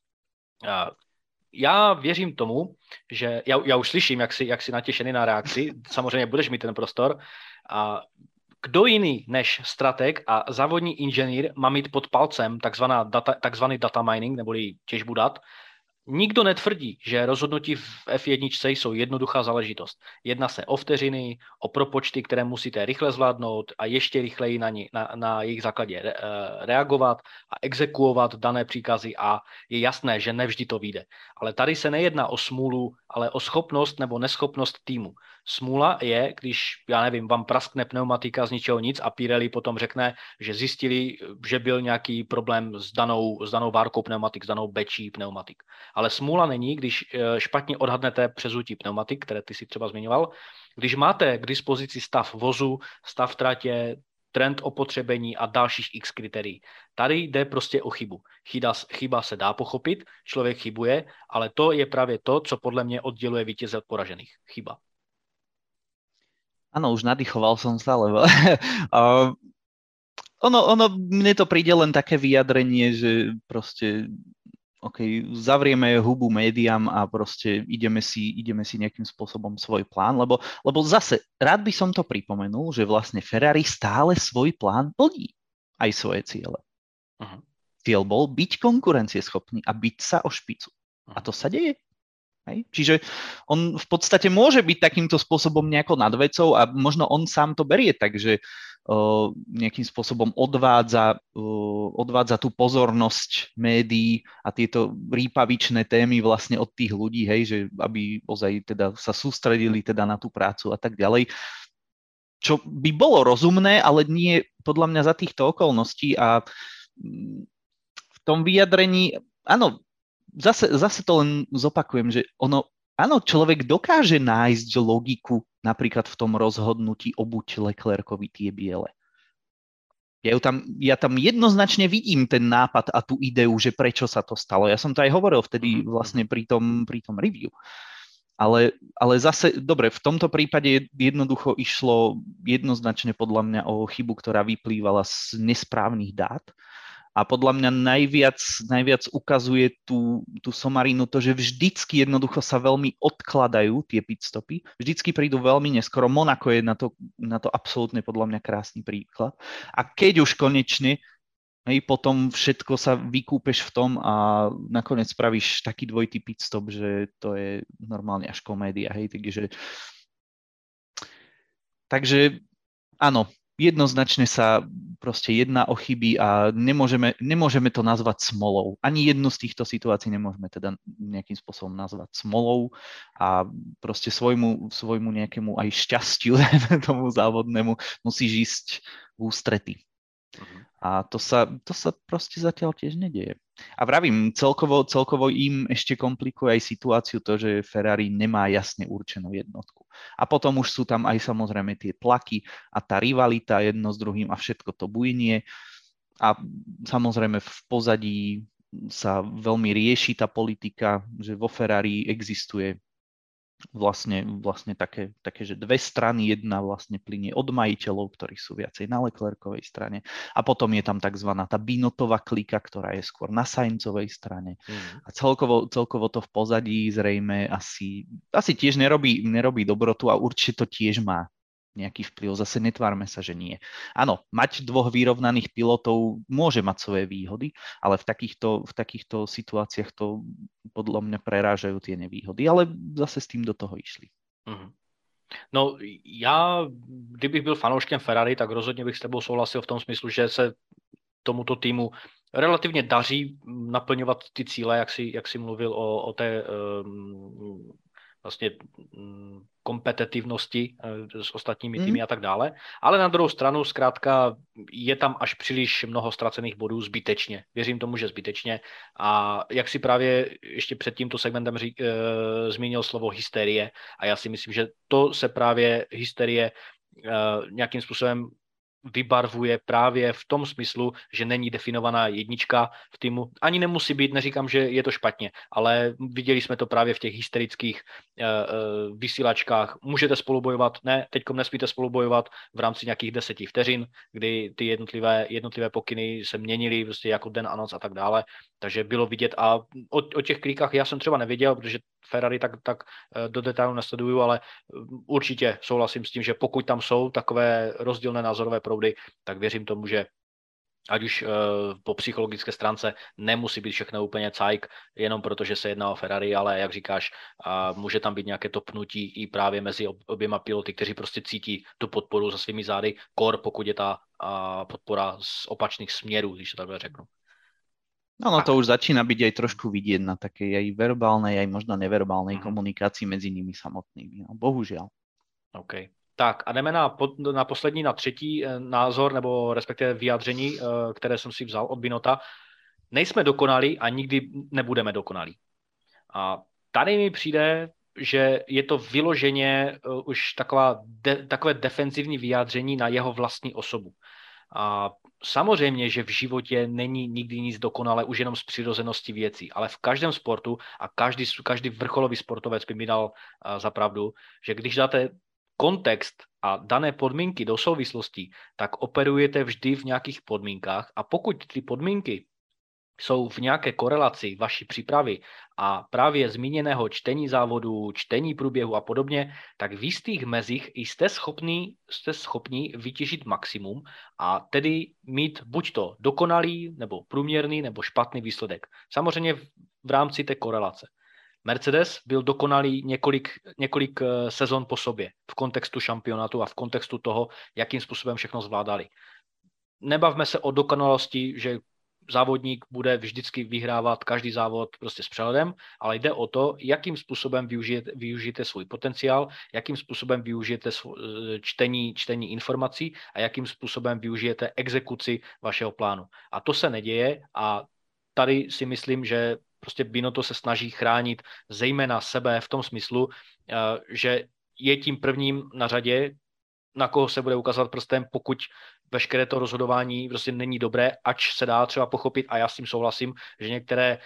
S1: Já věřím tomu, že já, já už slyším, jak jsi, jak jsi natěšený na reakci, samozřejmě budeš mít ten prostor. A kdo jiný než strateg a závodní inženýr má mít pod palcem takzvaná data, takzvaný data mining, neboli těžbu dat? Nikdo netvrdí, že rozhodnutí v F jedna jsou jednoduchá záležitost. Jedná se o vteřiny, o propočty, které musíte rychle zvládnout a ještě rychleji na, ní, na, na jejich základě re, reagovat a exekuovat dané příkazy a je jasné, že nevždy to vyjde. Ale tady se nejedná o smůlu, ale o schopnost nebo neschopnost týmu. Smůla je, když, já nevím, vám praskne pneumatika z ničeho nic a Pirelli potom řekne, že zjistili, že byl nějaký problém s danou, s danou várkou pneumatik, s danou bečí pneumatik. Ale smůla není, když špatně odhadnete přezutí pneumatik, které ty si třeba zmiňoval. Když máte k dispozici stav vozu, stav tratě, trend opotřebení a dalších x kritérií. Tady jde prostě o chybu. Chyba, chyba se dá pochopit, člověk chybuje, ale to je právě to, co podle mě odděluje vítěze od poražených. Chyba.
S2: Áno, už nadýchoval som sa, lebo uh, ono, ono, mne to príde len také vyjadrenie, že proste OK, zavrieme hubu médiám a proste ideme si, ideme si nejakým spôsobom svoj plán, lebo, lebo zase rád by som to pripomenul, že vlastne Ferrari stále svoj plán plní, aj svoje ciele. Uh-huh. Cieľ bol byť konkurencieschopný a byť sa o špicu. Uh-huh. A to sa deje. Hej? Čiže on v podstate môže byť takýmto spôsobom nejako nad vecou a možno on sám to berie tak, že uh, nejakým spôsobom odvádza, uh, odvádza tú pozornosť médií a tieto rýpavičné témy vlastne od tých ľudí, hej, že aby ozaj teda sa sústredili teda na tú prácu a tak ďalej. Čo by bolo rozumné, ale nie podľa mňa za týchto okolností a v tom vyjadrení, áno, Zase, zase to len zopakujem, že ono, áno, človek dokáže nájsť logiku napríklad v tom rozhodnutí obuť Leclercovi tie biele. Ja, tam, ja tam jednoznačne vidím ten nápad a tú ideu, že prečo sa to stalo. Ja som to aj hovoril vtedy vlastne pri tom, pri tom review. Ale, ale zase, dobre, v tomto prípade jednoducho išlo jednoznačne podľa mňa o chybu, ktorá vyplývala z nesprávnych dát. A podľa mňa najviac, najviac ukazuje tú, tú Somarinu to, že vždycky jednoducho sa veľmi odkladajú tie pitstopy. Vždycky prídu veľmi neskoro. Monako je na to, na to absolútne podľa mňa krásny príklad. A keď už konečne, hej, potom všetko sa vykúpeš v tom a nakoniec spravíš taký dvojitý pitstop, že to je normálne až komédia. Hej, takže, takže áno, jednoznačne sa proste jedná o chyby a nemôžeme, nemôžeme to nazvať smolou. Ani jednu z týchto situácií nemôžeme teda nejakým spôsobom nazvať smolou a proste svojmu, svojmu nejakému aj šťastiu tomu závodnému musíš ísť v ústrety. A to sa, to sa proste zatiaľ tiež nedieje. A vravím, celkovo, celkovo im ešte komplikuje aj situáciu to, že Ferrari nemá jasne určenú jednotku. A potom už sú tam aj samozrejme tie tlaky a tá rivalita jedno s druhým a všetko to bujnie. A samozrejme v pozadí sa veľmi rieši tá politika, že vo Ferrari existuje vlastne, vlastne také, také, že dve strany, jedna vlastne plynie od majiteľov, ktorí sú viacej na Leclercovej strane a potom je tam takzvaná tá Binottová klika, ktorá je skôr na Sainzovej strane. Mm. A celkovo, celkovo to v pozadí zrejme asi, asi tiež nerobí, nerobí dobrotu a určite to tiež má nejaký vplyv. Zase netvárme sa, že nie. Áno, mať dvoch vyrovnaných pilotov môže mať svoje výhody, ale v takýchto, v takýchto situáciách to podľa mňa prerážajú tie nevýhody, ale zase s tým do toho išli.
S1: Mm-hmm. No já, kdybych byl fanouškem Ferrari, tak rozhodně bych s tebou souhlasil v tom smyslu, že se tomuto týmu relativně daří naplňovat ty cíle, jak si, jak si mluvil o, o té um, vlastně kompetitivnosti s ostatními týmy mm. a tak dále. Ale na druhou stranu zkrátka je tam až příliš mnoho ztracených bodů zbytečně. Věřím tomu, že zbytečně. A jak si právě ještě před tímto segmentem řík, e, zmínil slovo hysterie a já si myslím, že to se právě hysterie e, nějakým způsobem vybarvuje právě v tom smyslu, že není definovaná jednička v týmu. Ani nemusí být, neříkám, že je to špatně, ale viděli jsme to právě v těch hysterických uh, uh, vysílačkách. Můžete spolubojovat, ne, teďkom nesmíte spolubojovat v rámci nějakých deseti vteřin, kdy ty jednotlivé, jednotlivé pokyny se měnily prostě jako den a noc a tak dále. Takže bylo vidět a o, o těch klikách já jsem třeba nevěděl, protože Ferrari tak, tak do detailu nesleduju, ale určitě souhlasím s tím, že pokud tam jsou takové rozdílné názorové proudy, tak věřím tomu, že ať už uh, po psychologické stránce nemusí být všechno úplně cajk, jenom proto, že se jedná o Ferrari, ale jak říkáš, uh, může tam být nějaké to pnutí i právě mezi oběma piloty, kteří prostě cítí tu podporu za svými zády, kor pokud je ta uh, podpora z opačných směrů, když to takhle řeknu.
S2: No, no to už začína byť aj trošku vidieť na takej aj verbálnej, aj možno neverbálnej mm-hmm. komunikácii medzi nimi samotnými. No, bohužiaľ.
S1: OK. Tak a jdeme na, na poslední, na třetí názor, nebo respektive vyjádření, které jsem si vzal od Binota. Nejsme dokonalí a nikdy nebudeme dokonalí. A tady mi přijde, že je to vyloženě už taková de, takové defenzivní vyjádření na jeho vlastní osobu. A samozřejmě, že v životě není nikdy nic dokonale, už jenom z přirozenosti věcí, ale v každém sportu a každý, každý vrcholový sportovec by mi dal za pravdu, že když dáte kontext a dané podmínky do souvislostí, tak operujete vždy v nějakých podmínkách a pokud ty podmínky jsou v nějaké korelaci vaší přípravy a právě zmíněného čtení závodu, čtení průběhu a podobně, tak v jistých mezích jste schopní, jste schopní vytěžit maximum a tedy mít buď to dokonalý, nebo průměrný, nebo špatný výsledek. Samozřejmě v, v rámci té korelace. Mercedes byl dokonalý několik, několik sezon po sobě v kontextu šampionátu a v kontextu toho, jakým způsobem všechno zvládali. Nebavme se o dokonalosti, že závodník bude vždycky vyhrávat každý závod prostě s přehledem, ale jde o to, jakým způsobem využijete, využijete svůj potenciál, jakým způsobem využijete čtení, čtení informací a jakým způsobem využijete exekuci vašeho plánu. A to se neděje a tady si myslím, že prostě Binotto se snaží chránit zejména sebe v tom smyslu, že je tím prvním na řadě, na koho se bude ukazovat prstem, pokud veškeré to rozhodování prostě není dobré, ač se dá třeba pochopit, a já s tím souhlasím, že některé,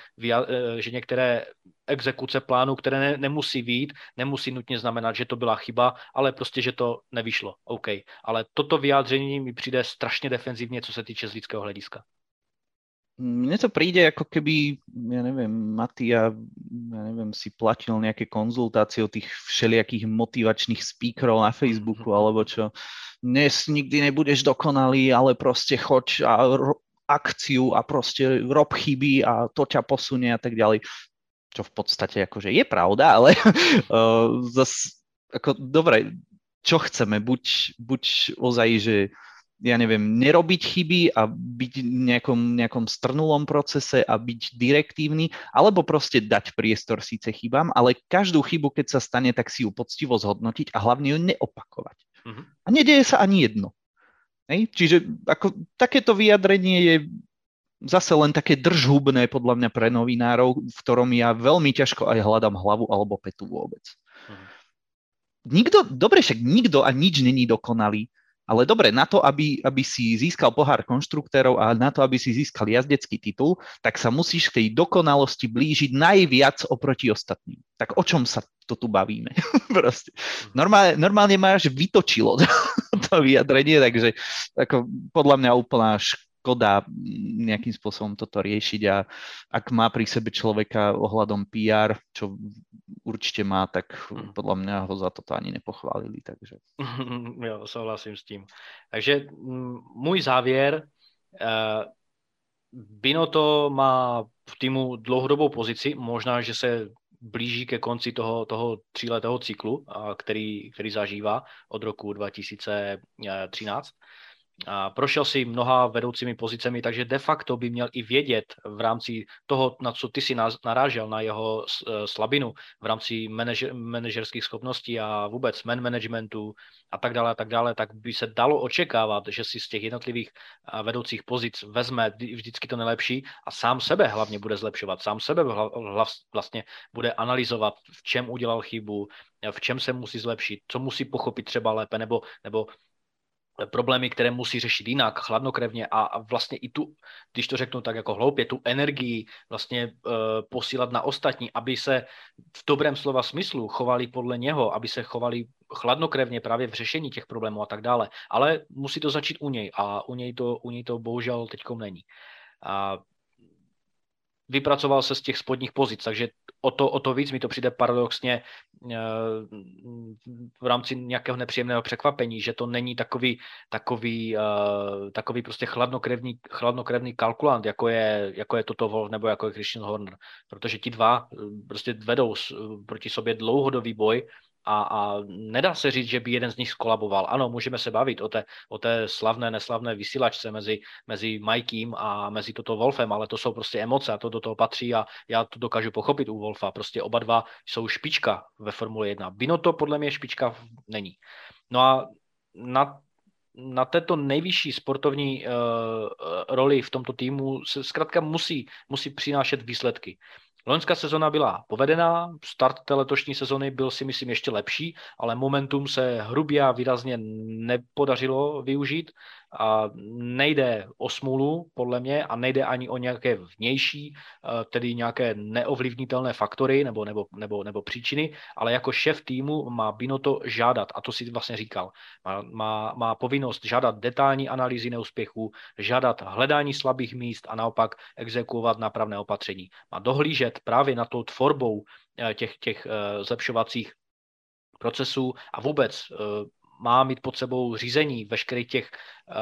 S1: že některé exekuce plánu, které ne, nemusí vyjít, nemusí nutně znamenat, že to byla chyba, ale prostě, že to nevyšlo. OK. Ale toto vyjádření mi přijde strašně defenzivně, co se týče z lidského hlediska.
S2: Mne to príde, ako keby, ja neviem, Matia, ja neviem, si platil nejaké konzultácie od tých všelijakých motivačných speakerov na Facebooku, alebo čo. Dnes nikdy nebudeš dokonalý, ale proste choď a ro- akciu a proste rob chyby a to ťa posunie a tak ďalej. Čo v podstate akože je pravda, ale uh, zas, ako, dobre, čo chceme? Buď, buď ozaj, že ja neviem, nerobiť chyby a byť v nejakom, nejakom strnulom procese a byť direktívny, alebo proste dať priestor síce chybám, ale každú chybu, keď sa stane, tak si ju poctivo zhodnotiť a hlavne ju neopakovať. Uh-huh. A nedieje sa ani jedno. Hej? Čiže ako, takéto vyjadrenie je zase len také držhubné podľa mňa pre novinárov, v ktorom ja veľmi ťažko aj hľadám hlavu alebo petu vôbec. Uh-huh. Nikto, dobre, však nikto a nič není dokonalý. Ale dobre, na to, aby, aby si získal pohár konštruktérov a na to, aby si získal jazdecký titul, tak sa musíš k tej dokonalosti blížiť najviac oproti ostatným. Tak o čom sa to tu bavíme? Proste. Normálne, normálne máš vytočilo to vyjadrenie, takže ako, podľa mňa úplná škoda nejakým spôsobom toto riešiť a ak má pri sebe človeka ohľadom pé er, čo určite má, tak podľa mňa ho za toto ani nepochválili. Takže.
S1: Jo, souhlasím s tím. Takže můj závěr, Binotto má v týmu dlouhodobou pozici, možná, že se blíží ke konci toho, toho tříletého cyklu, který, který zažívá od roku dva tisíce třináct. A prošel si mnoha vedoucími pozicemi, takže de facto by měl i vědět v rámci toho, na co ty si narážel, na jeho slabinu v rámci manažer, manažerských schopností a vůbec man managementu a tak dále, a tak dále, tak by se dalo očekávat, že si z těch jednotlivých vedoucích pozic vezme vždycky to nejlepší a sám sebe hlavně bude zlepšovat, sám sebe vlastně bude analyzovat, v čem udělal chybu, v čem se musí zlepšit, co musí pochopit třeba lépe, nebo, nebo problémy, které musí řešit jinak, chladnokrevně a vlastně i tu, když to řeknu tak jako hloupě, tu energii vlastně e, posílat na ostatní, aby se v dobrém slova smyslu chovali podle něho, aby se chovali chladnokrevně právě v řešení těch problémů a tak dále. Ale musí to začít u něj a u něj to, u něj to bohužel teďkom není. A vypracoval se z těch spodních pozic, takže o to, o to víc mi to přijde paradoxně v rámci nějakého nepříjemného překvapení, že to není takový, takový, takový prostě chladnokrevný, chladnokrevný kalkulant, jako je, jako je Toto Wolff nebo jako je Christian Horner, protože ti dva prostě vedou proti sobě dlouhodobý boj a, a nedá se říct, že by jeden z nich skolaboval. Ano, můžeme se bavit o té, o té slavné, neslavné vysílačce mezi, mezi Mikey a mezi Toto Wolffem, ale to jsou prostě emoce a to do toho patří a já to dokážu pochopit u Wolffa. Prostě oba dva jsou špička ve Formule jedna. Binotto podle mě špička není. No a na na této nejvyšší sportovní uh, roli v tomto týmu se zkrátka musí, musí přinášet výsledky. Loňská sezona byla povedená, start té letošní sezony byl si myslím ještě lepší, ale momentum se hrubě a výrazně nepodařilo využít a nejde o smůlu podle mě a nejde ani o nějaké vnější, tedy nějaké neovlivnitelné faktory nebo, nebo, nebo, nebo příčiny, ale jako šéf týmu má Binotto žádat, a to si vlastně říkal, má, má, má povinnost žádat detailní analýzy neúspěchů, žádat hledání slabých míst a naopak exekuovat nápravné opatření. Má dohlížet právě na tou tvorbou těch, těch zlepšovacích procesů a vůbec má mít pod sebou řízení veškerých těch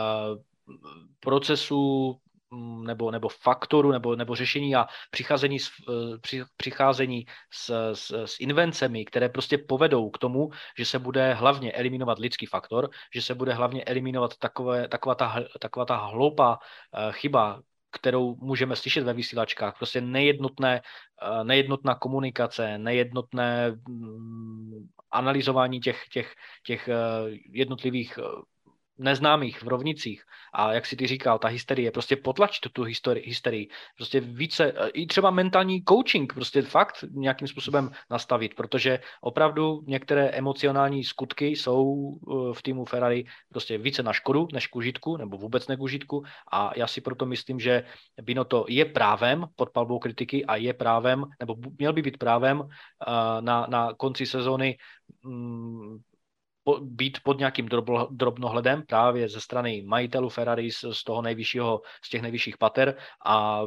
S1: procesů nebo, nebo faktorů nebo, nebo řešení a přicházení, s, při, přicházení s, s, s invencemi, které prostě povedou k tomu, že se bude hlavně eliminovat lidský faktor, že se bude hlavně eliminovat takové, taková, ta, taková ta hloupá chyba, kterou můžeme slyšet ve vysílačkách. Prostě nejednotné, nejednotná komunikace, nejednotné analyzování těch, těch, těch jednotlivých neznámých v rovnicích. A jak si ty říkal, ta hysterie, prostě potlač tu, tu hysterii, hysterii. Prostě více, i třeba mentální coaching, prostě fakt nějakým způsobem nastavit, protože opravdu některé emocionální skutky jsou v týmu Ferrari prostě více na škodu než k užitku, nebo vůbec ne k užitku. A já si proto myslím, že Binotto je právem pod palbou kritiky a je právem, nebo měl by být právem na, na konci sezóny po, být pod nějakým drobno, drobnohledem právě ze strany majitelů Ferrari z, z toho nejvyššího, z těch nejvyšších pater a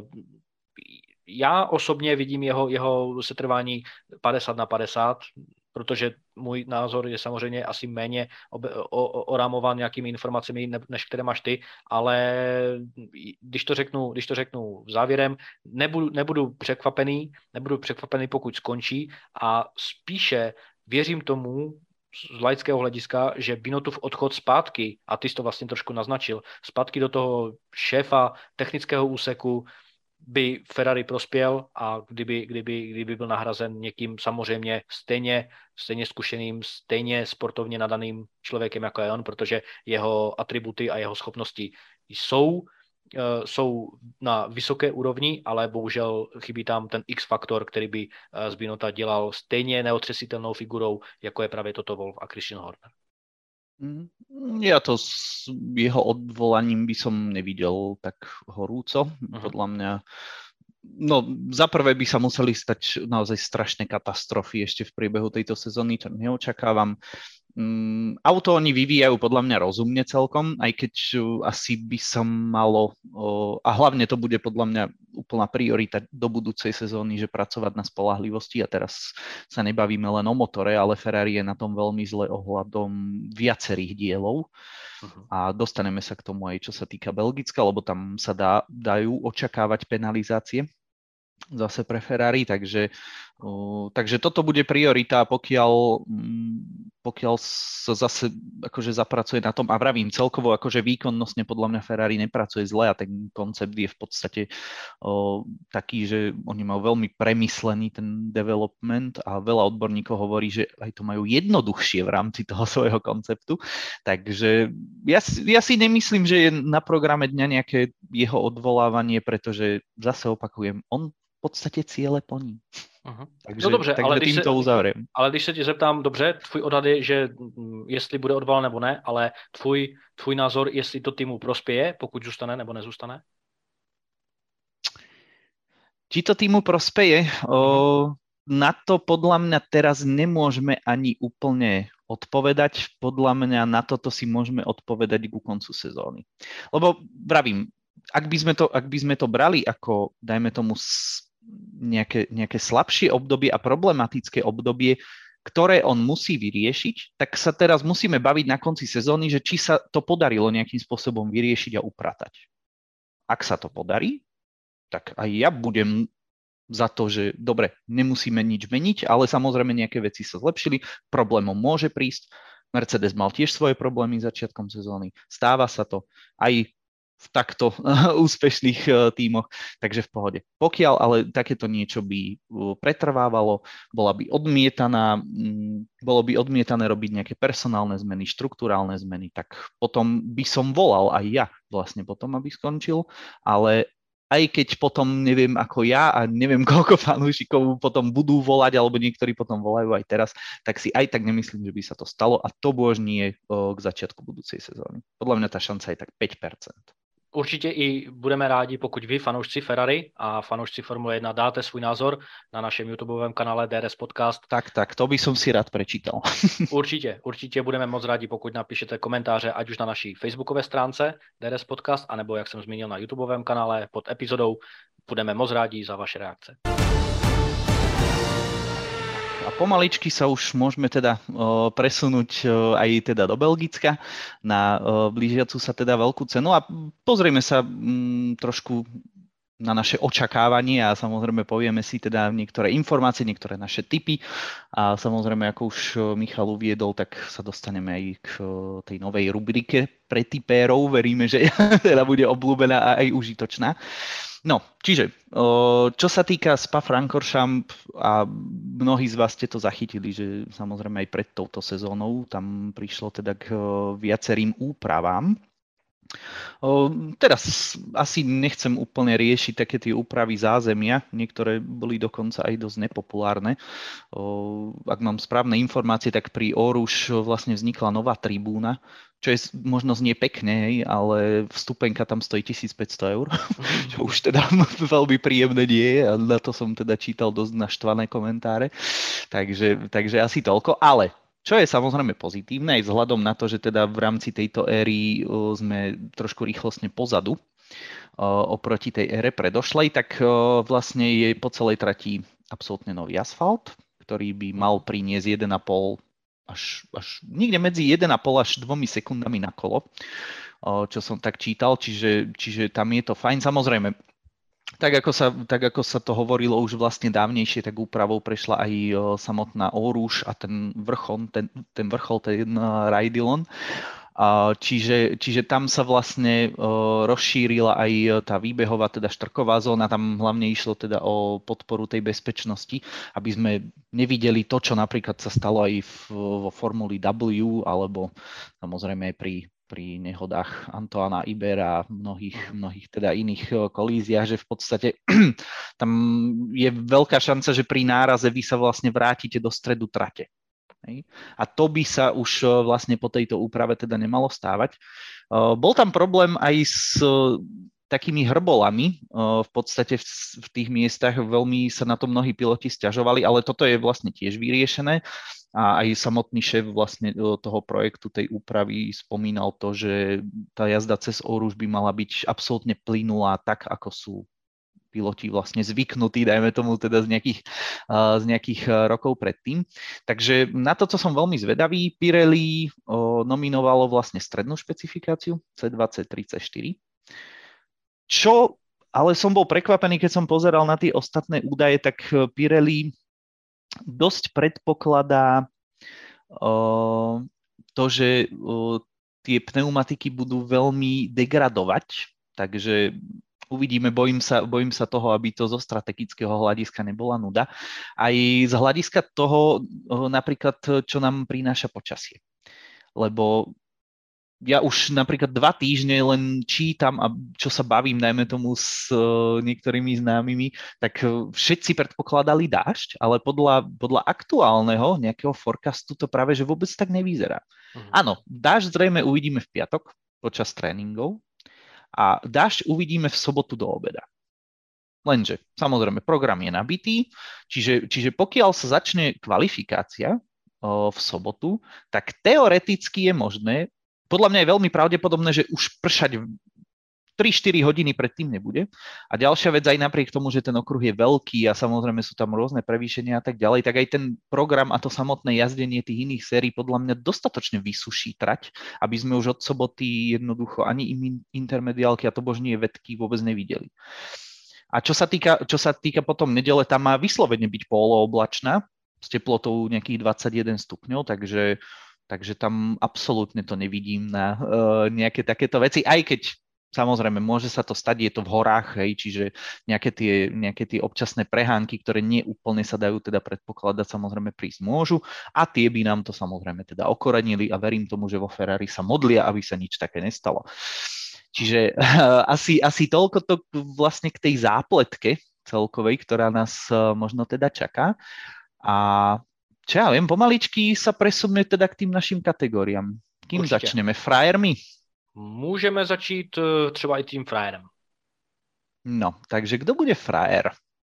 S1: já osobně vidím jeho, jeho setrvání padesát na padesát, protože můj názor je samozřejmě asi méně orámován nějakými informacemi, než které máš ty, ale když to řeknu, když to řeknu závěrem, nebudu, nebudu překvapený, nebudu překvapený, pokud skončí a spíše věřím tomu, z laického hlediska, že Binotův odchod zpátky, a ty jsi to vlastně trošku naznačil, zpátky do toho šéfa technického úseku, by Ferrari prospěl a kdyby, kdyby, kdyby byl nahrazen někým samozřejmě stejně, stejně zkušeným, stejně sportovně nadaným člověkem, jako je on, protože jeho atributy a jeho schopnosti jsou, jsou na vysoké úrovni, ale bohužel chybí tam ten X-faktor, který by z Binota dělal stejně neotřesitelnou figurou, jako je právě Toto Wolff a Christian Horner.
S2: Ja to s jeho odvolaním by som nevidel tak horúco. Uh-huh. Podľa mňa, no za prvé by sa museli stať naozaj strašné katastrofy ešte v priebehu tejto sezóny, čo neočakávam. Um, auto oni vyvíjajú podľa mňa rozumne celkom, aj keď uh, asi by som malo, uh, a hlavne to bude podľa mňa úplná priorita do budúcej sezóny, že pracovať na spoľahlivosti a teraz sa nebavíme len o motore, ale Ferrari je na tom veľmi zle ohľadom viacerých dielov uh-huh. a dostaneme sa k tomu aj čo sa týka Belgicka, lebo tam sa dá, dajú očakávať penalizácie zase pre Ferrari, takže, uh, takže toto bude priorita, pokiaľ, um, pokiaľ sa zase akože zapracuje na tom a vravím celkovo, akože výkonnostne podľa mňa Ferrari nepracuje zle a ten koncept je v podstate uh, taký, že oni majú veľmi premyslený ten development a veľa odborníkov hovorí, že aj to majú jednoduchšie v rámci toho svojho konceptu, takže ja, ja si nemyslím, že je na programe dňa nejaké jeho odvolávanie, pretože zase opakujem, on v podstatě cíle plní.
S1: Uh-huh.
S2: Takže,
S1: no dobře,
S2: takže
S1: ale když,
S2: tím
S1: se,
S2: to uzavřem.
S1: ale když se ti zeptám, dobře, tvůj odhad je, že jestli bude odvolán nebo ne, ale tvůj, tvůj názor, jestli to týmu prospěje, pokud zůstane nebo nezůstane?
S2: Či to týmu prospeje? O, na to podľa mňa teraz nemôžeme ani úplne odpovedať. Podľa mňa na toto si môžeme odpovedať ku koncu sezóny. Lebo vravím, ak by sme to, ak by sme to brali ako, dajme tomu, nejaké, nejaké slabšie obdobie a problematické obdobie, ktoré on musí vyriešiť, tak sa teraz musíme baviť na konci sezóny, že či sa to podarilo nejakým spôsobom vyriešiť a upratať. Ak sa to podarí, tak aj ja budem za to, že dobre, nemusíme nič meniť, ale samozrejme nejaké veci sa zlepšili, problémom môže prísť. Mercedes mal tiež svoje problémy začiatkom sezóny. Stáva sa to aj v takto úspešných tímoch, takže v pohode. Pokiaľ ale takéto niečo by pretrvávalo, bola by odmietaná, bolo by odmietané robiť nejaké personálne zmeny, štruktúrálne zmeny, tak potom by som volal aj ja vlastne potom, aby skončil, ale aj keď potom neviem ako ja a neviem koľko fanúšikov potom budú volať, alebo niektorí potom volajú aj teraz, tak si aj tak nemyslím, že by sa to stalo a to bož nie k začiatku budúcej sezóny. Podľa mňa tá šanca je tak päť percent.
S1: Určitě i budeme rádi, pokud vy, fanoušci Ferrari a fanoušci Formule jedna, dáte svůj názor na našem YouTubeovém kanále D R S Podcast.
S2: Tak, tak, to by som si rád prečítal.
S1: Určitě, určitě budeme moc rádi, pokud napíšete komentáře, ať už na naší facebookové stránce D R S Podcast, anebo, jak jsem zmínil, na YouTubeovém kanále pod epizodou. Budeme moc rádi za vaše reakce.
S2: A pomaličky sa už môžeme teda o, presunúť o, aj teda do Belgicka na o, blížiacu sa teda veľkú cenu a pozrieme sa m, trošku na naše očakávanie a samozrejme povieme si teda niektoré informácie, niektoré naše tipy a samozrejme, ako už Michal uviedol, tak sa dostaneme aj k o, tej novej rubrike pre tipérov. Veríme, že teda bude obľúbená a aj užitočná. No, čiže, čo sa týka Spa-Francorchamps a mnohí z vás ste to zachytili, že samozrejme aj pred touto sezónou tam prišlo teda k viacerým úpravám. Teraz asi nechcem úplne riešiť také tie úpravy zázemia, niektoré boli dokonca aj dosť nepopulárne. Ak mám správne informácie, tak pri Oruš vlastne vznikla nová tribúna, čo je možno znie pekne, hej, ale vstupenka tam stojí tisícpäťsto eur, čo už teda veľmi príjemné nie je a na to som teda čítal dosť naštvané komentáre, takže, takže asi toľko, ale Čo je samozrejme pozitívne aj vzhľadom na to, že teda v rámci tejto éry sme trošku rýchlostne pozadu oproti tej ére predošlej, tak vlastne je po celej trati absolútne nový asfalt, ktorý by mal priniesť jeden a pol až, až niekde medzi jeden a pol až dvomi sekundami na kolo, čo som tak čítal, čiže, čiže tam je to fajn. Samozrejme, Tak ako, sa, tak ako sa to hovorilo už vlastne dávnejšie, tak úpravou prešla aj o, samotná Orúš a ten vrchol, ten, ten vrchol, ten uh, Raidillon. Uh, čiže, čiže tam sa vlastne uh, rozšírila aj tá výbehová, teda štrková zóna, tam hlavne išlo teda o podporu tej bezpečnosti, aby sme nevideli to, čo napríklad sa stalo aj v, vo Formuli W, alebo samozrejme aj pri pri nehodách Antoana Ibera a mnohých, mnohých teda iných kolíziách, že v podstate tam je veľká šanca, že pri náraze vy sa vlastne vrátite do stredu trate. A to by sa už vlastne po tejto úprave teda nemalo stávať. Bol tam problém aj s takými hrbolami, v podstate v tých miestach veľmi sa na to mnohí piloti sťažovali, ale toto je vlastne tiež vyriešené. A aj samotný šéf vlastne toho projektu, tej úpravy spomínal to, že tá jazda cez Orúš by mala byť absolútne plynulá, tak ako sú piloti vlastne zvyknutí, dajme tomu teda z nejakých, z nejakých rokov predtým. Takže na toto som veľmi zvedavý. Pirelli nominovalo vlastne strednú špecifikáciu cé dvadsať tridsaťštyri. Čo, ale som bol prekvapený, keď som pozeral na tie ostatné údaje, tak Pirelli dosť predpokladá uh, to, že uh, tie pneumatiky budú veľmi degradovať, takže uvidíme, bojím sa, bojím sa toho, aby to zo strategického hľadiska nebola nuda. Aj z hľadiska toho uh, napríklad, čo nám prináša počasie. Lebo ja už napríklad dva týždne len čítam a čo sa bavím, najmä tomu s uh, niektorými známymi, tak uh, všetci predpokladali dážď, ale podľa, podľa aktuálneho nejakého forecastu to práve že vôbec tak nevyzerá. Uh-huh. Áno, dážď zrejme uvidíme v piatok počas tréningov a dážď uvidíme v sobotu do obeda. Lenže, samozrejme, program je nabitý, čiže, čiže pokiaľ sa začne kvalifikácia uh, v sobotu, tak teoreticky je možné. Podľa mňa je veľmi pravdepodobné, že už pršať tri štyri hodiny predtým nebude. A ďalšia vec, aj napriek tomu, že ten okruh je veľký a samozrejme sú tam rôzne prevýšenia a tak ďalej, tak aj ten program a to samotné jazdenie tých iných sérií podľa mňa dostatočne vysuší trať, aby sme už od soboty jednoducho ani intermediálky a to božnie vedky vôbec nevideli. A čo sa týka, čo sa týka potom nedele, tam má vyslovene byť polooblačná s teplotou nejakých dvadsaťjeden stupňov, takže Takže tam absolútne to nevidím na uh, nejaké takéto veci, aj keď samozrejme môže sa to stať, je to v horách, hej, čiže nejaké tie, nejaké tie občasné prehánky, ktoré nie úplne sa dajú teda predpokladať, samozrejme prísť môžu a tie by nám to samozrejme teda okorenili a verím tomu, že vo Ferrari sa modlia, aby sa nič také nestalo. Čiže uh, asi, asi toľko to vlastne k tej zápletke celkovej, ktorá nás uh, možno teda čaká. A čo ja viem, pomaličky sa presuneme teda k tým našim kategóriám. Kým Určite. Začneme? Frajermi?
S1: Můžeme začít třeba i tým frajerem.
S2: No, takže kdo bude frajer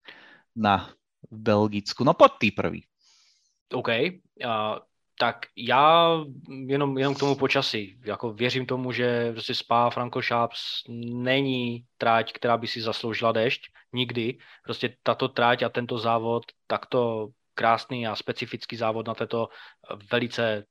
S2: na Belgicku? No poď ty prvý.
S1: OK, uh, tak já jenom, jenom k tomu počasí. Jako věřím tomu, že prostě Spa Francorchamps není tráť, která by si zasloužila déšť. Nikdy. Prostě tato tráť a tento závod takto krásný a specifický závod na této velice,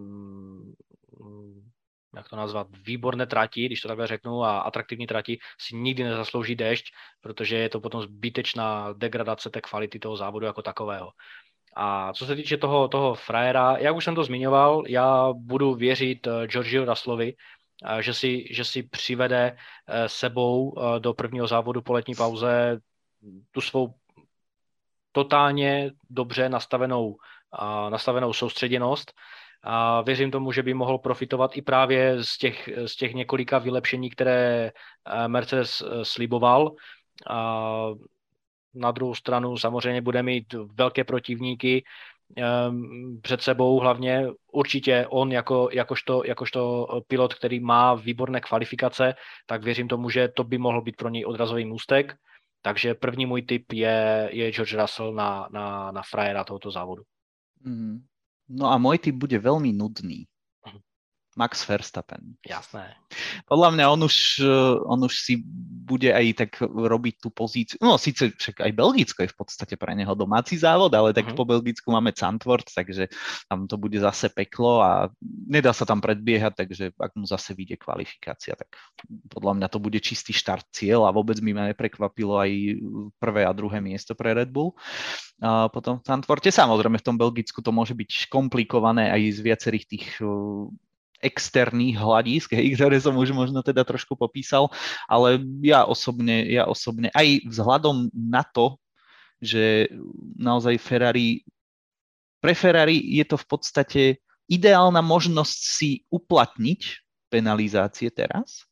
S1: jak to nazvat, výborné trati, když to takhle řeknu, a atraktivní trati si nikdy nezaslouží déšť, protože je to potom zbytečná degradace té kvality toho závodu jako takového. A co se týče toho, toho frajera, jak už jsem to zmiňoval, já budu věřit Georgiu Russellovi, že si, že si přivede sebou do prvního závodu po letní pauze tu svou totálně dobře nastavenou, nastavenou soustředěnost. A věřím tomu, že by mohl profitovat i právě z těch, z těch několika vylepšení, které Mercedes sliboval. A na druhou stranu samozřejmě bude mít velké protivníky před sebou, hlavně určitě on jako, jakožto, jakožto pilot, který má výborné kvalifikace, tak věřím tomu, že to by mohl být pro něj odrazový můstek. Takže první můj tip je, je George Russell na, na, na frajera tohoto závodu.
S2: Mm. No a môj typ bude veľmi nudný. Max Verstappen.
S1: Jasné.
S2: Podľa mňa on už, on už si bude aj tak robiť tú pozíciu. No síce však aj Belgicko je v podstate pre neho domáci závod, ale tak uh-huh. po Belgicku máme Zandvoort, takže tam to bude zase peklo a nedá sa tam predbiehať, takže ak mu zase vyjde kvalifikácia, tak podľa mňa to bude čistý štart cieľ a vôbec by ma neprekvapilo aj prvé a druhé miesto pre Red Bull. A potom v Zandvoorte, samozrejme v tom Belgicku to môže byť komplikované aj z viacerých tých externých hľadísk, ktoré som už možno teda trošku popísal, ale ja osobne, ja osobne aj vzhľadom na to, že naozaj Ferrari, pre Ferrari je to v podstate ideálna možnosť si uplatniť penalizácie teraz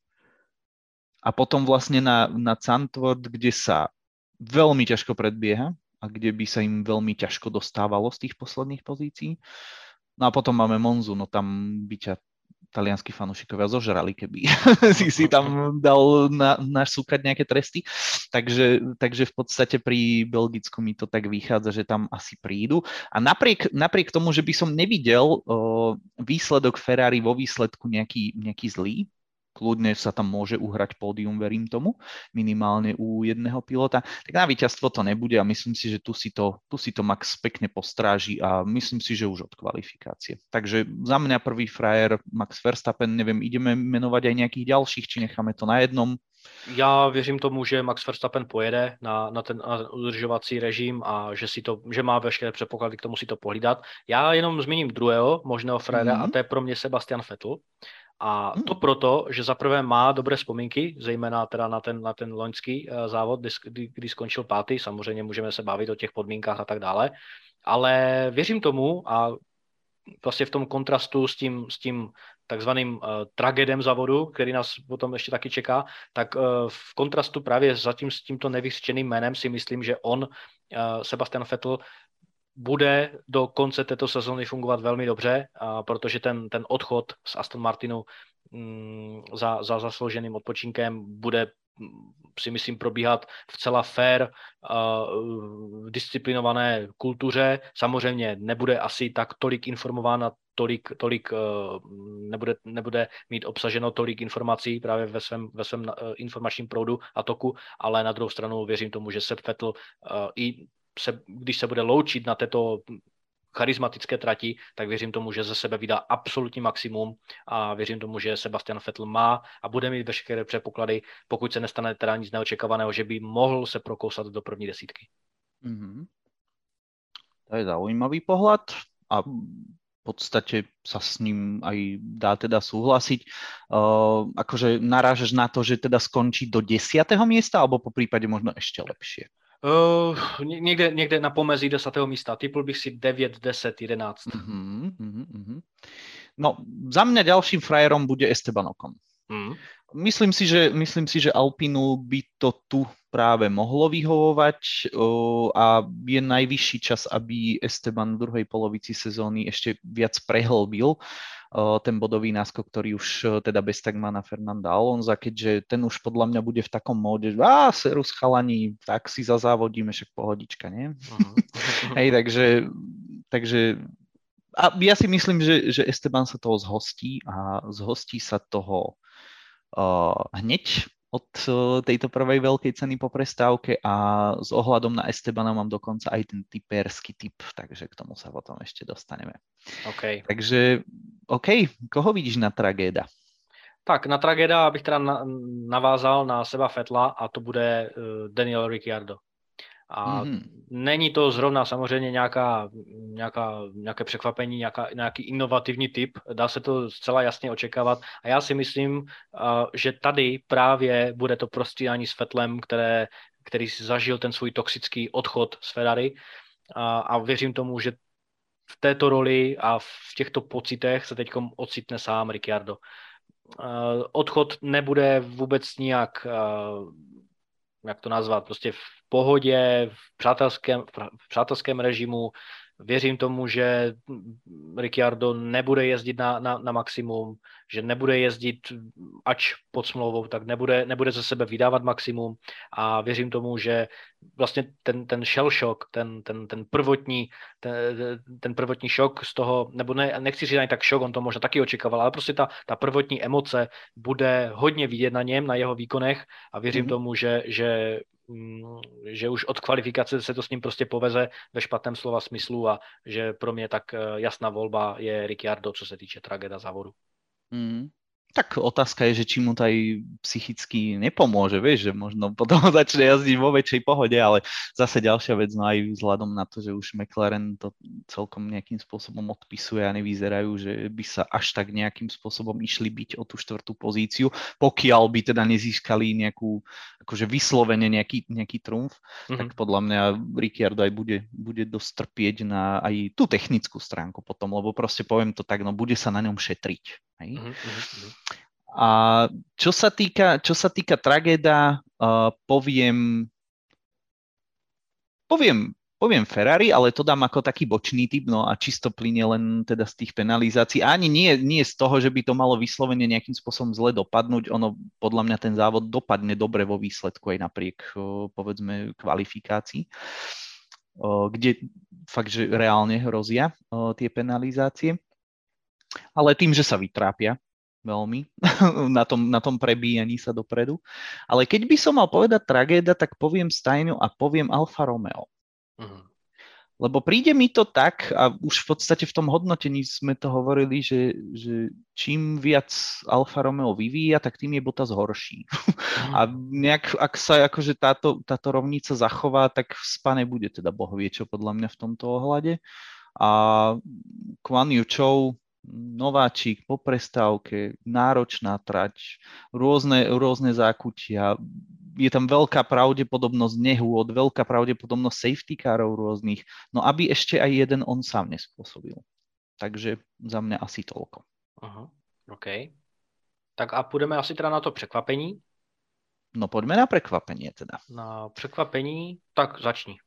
S2: a potom vlastne na, na Zandvoort, kde sa veľmi ťažko predbieha a kde by sa im veľmi ťažko dostávalo z tých posledných pozícií. No a potom máme Monzu, no tam by ťa talianskí fanúšikovia zožrali, keby si si tam dal na, nasúkať nejaké tresty. Takže, takže v podstate pri Belgicku mi to tak vychádza, že tam asi prídu. A napriek, napriek tomu, že by som nevidel o, výsledok Ferrari vo výsledku nejaký, nejaký zlý, kľudne sa tam môže uhrať pódium, verím tomu, minimálne u jedného pilota, tak na víťazstvo to nebude a myslím si, že tu si to, tu si to Max pekne postráži a myslím si, že už od kvalifikácie. Takže za mňa prvý frajer Max Verstappen, neviem, ideme menovať aj nejakých ďalších, či necháme to na jednom?
S1: Já věřím tomu, že Max Verstappen pojede na, na ten na udržovací režim a že, si to, že má veškeré předpoklady k tomu si to pohlídat. Já jenom zmíním druhého možného frajera mm-hmm. a to je pro mě Sebastian Vettel. A to proto, že zaprvé má dobré vzpomínky, zejména teda na ten, na ten loňský uh, závod, kdy, kdy skončil pátý, samozřejmě můžeme se bavit o těch podmínkách a tak dále, ale věřím tomu a vlastně v tom kontrastu s tím, s tím takzvaným uh, tragédem závodu, který nás potom ještě taky čeká, tak uh, v kontrastu právě zatím s tímto nevyřčeným jménem si myslím, že on, uh, Sebastian Vettel, bude do konce této sezóny fungovat velmi dobře, a protože ten, ten odchod z Aston Martinu mm, za, za zaslouženým odpočinkem bude, si myslím, probíhat v celá fair, uh, disciplinované kultuře. Samozřejmě nebude asi tak tolik informována, tolik, tolik uh, nebude, nebude mít obsaženo tolik informací právě ve svém, ve svém uh, informačním proudu a toku, ale na druhou stranu věřím tomu, že Seb Vettel uh, i se, když se bude loučit na této charismatické trati, tak věřím tomu, že ze sebe vydá absolutní maximum a věřím tomu, že Sebastian Vettel má a bude mít veškeré předpoklady, pokud se nestane teda nic neočekávaného, že by mohl se prokousat do první desítky.
S2: Mm-hmm. To je zaujímavý pohľad a v podstate sa s ním aj dá teda súhlasiť. Uh, akože narážaš na to, že teda skončí do desiateho miesta alebo po prípade možno ešte lepšie?
S1: Uh, někde, někde na pomezí desátého místa. Typl bych si devět, deset, jedenáct.
S2: Uh-huh, uh-huh, uh-huh. No, za mňa ďalším frajerom bude Esteban Ocon. Uh-huh. Myslím si, že, myslím si, že Alpinu by to tu práve mohlo vyhovovať uh, a je najvyšší čas, aby Esteban v druhej polovici sezóny ešte viac prehlbil ten bodový náskok, ktorý už teda bez tak má na Fernanda Alonza, keďže ten už podľa mňa bude v takom móde, že á, serus chalani, tak si zazávodíme, však pohodička, nie? Uh-huh. Hej, takže, takže a ja si myslím, že, že Esteban sa toho zhostí a zhostí sa toho uh, hneď od tejto prvej veľkej ceny po prestávke a s ohľadom na Estebana mám dokonca aj ten typerský typ, takže k tomu sa potom ešte dostaneme.
S1: Okay.
S2: Takže, OK, koho vidíš na tragéda?
S1: Tak, na tragéda bych teda navázal na Seba Vettela a to bude Daniel Ricciardo. A mm-hmm. není to zrovna samozřejmě nějaká, nějaká, nějaké překvapení, nějaká, nějaký inovativní typ, dá se to zcela jasně očekávat a já si myslím, uh, že tady právě bude to prostírání s Vettelem, které, který si zažil ten svůj toxický odchod z Ferrari a, a věřím tomu, že v této roli a v těchto pocitech se teď ocitne sám Ricciardo. Uh, odchod nebude vůbec nijak uh, jak to nazvat, prostě v pohodě, v přátelském, v přátelském režimu, Věřím tomu, že Ricciardo nebude jezdit na, na, na maximum, že nebude jezdit ač pod smlouvou, tak nebude, nebude ze sebe vydávat maximum a věřím tomu, že vlastně ten, ten shell shock, ten, ten, ten prvotní ten, ten prvotní šok z toho, nebo ne, nechci říct ani tak šok, on to možná taky očekával, ale prostě ta, ta prvotní emoce bude hodně vidět na něm, na jeho výkonech a věřím mm-hmm. tomu, že, že že už od kvalifikace se to s ním prostě poveze ve špatném slova smyslu a že pro mě tak jasná volba je Ricciardo, co se týče tragéda závodu.
S2: Mm. Tak otázka je, že či mu to aj psychicky nepomôže, vieš, že možno potom začne jazdiť vo väčšej pohode, ale zase ďalšia vec, no aj vzhľadom na to, že už McLaren to celkom nejakým spôsobom odpisuje a nevyzerajú, že by sa až tak nejakým spôsobom išli byť o tú štvrtú pozíciu, pokiaľ by teda nezískali nejakú, akože vyslovene nejaký, nejaký trumf, mm-hmm. tak podľa mňa Ricciardo aj bude, bude dosť trpieť na aj tú technickú stránku potom, lebo proste poviem to tak, no bude sa na ňom šetriť. Hej? Mm-hmm. A čo sa týka, čo sa týka tragéda, uh, poviem, poviem, poviem Ferrari, ale to dám ako taký bočný typ, no a čisto plyne len teda z tých penalizácií. A ani nie, nie z toho, že by to malo vyslovene nejakým spôsobom zle dopadnúť. Ono, podľa mňa ten závod dopadne dobre vo výsledku aj napriek, uh, povedzme, kvalifikácii, uh, kde fakt, že reálne hrozia uh, tie penalizácie. Ale tým, že sa vytrápia veľmi na tom, na tom prebíjaní sa dopredu. Ale keď by som mal povedať tragéda, tak poviem Stajňu a poviem Alfa Romeo. Uh-huh. Lebo príde mi to tak, a už v podstate v tom hodnotení sme to hovorili, že, že čím viac Alfa Romeo vyvíja, tak tým je Bottas horší. Uh-huh. A nejak, ak sa akože táto, táto rovnica zachová, tak v spane bude teda Boh vie čo podľa mňa v tomto ohľade. A Guan Yu Zhou, nováčik po prestávke, náročná trať, rôzne, rôzne zákutia, je tam veľká pravdepodobnosť nehôd, veľká pravdepodobnosť safety carov rôznych, no aby ešte aj jeden on sám nespôsobil. Takže za mňa asi toľko.
S1: Aha, OK. Tak a půjdeme asi teda na to překvapení?
S2: No poďme na prekvapenie teda.
S1: Na překvapení, tak začni.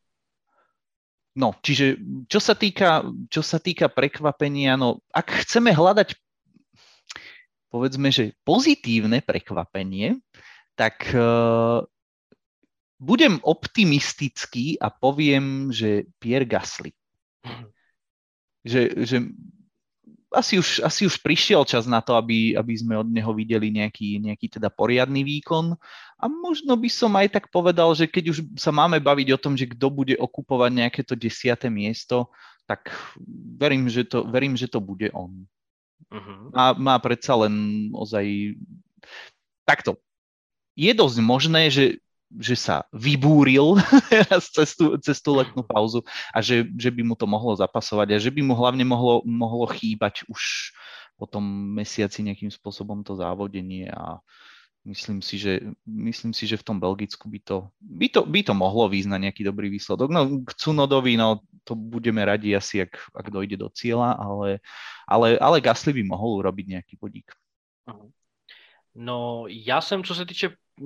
S2: No, čiže čo sa týka, čo sa týka prekvapenia, no ak chceme hľadať, povedzme, že pozitívne prekvapenie, tak uh, budem optimistický a poviem, že Pierre Gasly. Že, že asi, už, asi už prišiel čas na to, aby, aby sme od neho videli nejaký, nejaký teda poriadny výkon. A možno by som aj tak povedal, že keď už sa máme baviť o tom, že kto bude okupovať nejaké to desiate miesto, tak verím, že to, verím, že to bude on. Uh-huh. Má, má predsa len ozaj takto. Je dosť možné, že, že sa vybúril cez tú, cez tú letnú pauzu a že, že by mu to mohlo zapasovať a že by mu hlavne mohlo, mohlo chýbať už po tom mesiaci nejakým spôsobom to závodenie a myslím si, že, myslím si, že v tom Belgicku by to, by to, by to mohlo výjsť na nejaký dobrý výsledok. No k Tsunodovi, no to budeme radi asi, ak, ak dojde do cieľa, ale, ale, ale Gasly by mohol urobiť nejaký bodík.
S1: No já jsem, co se týče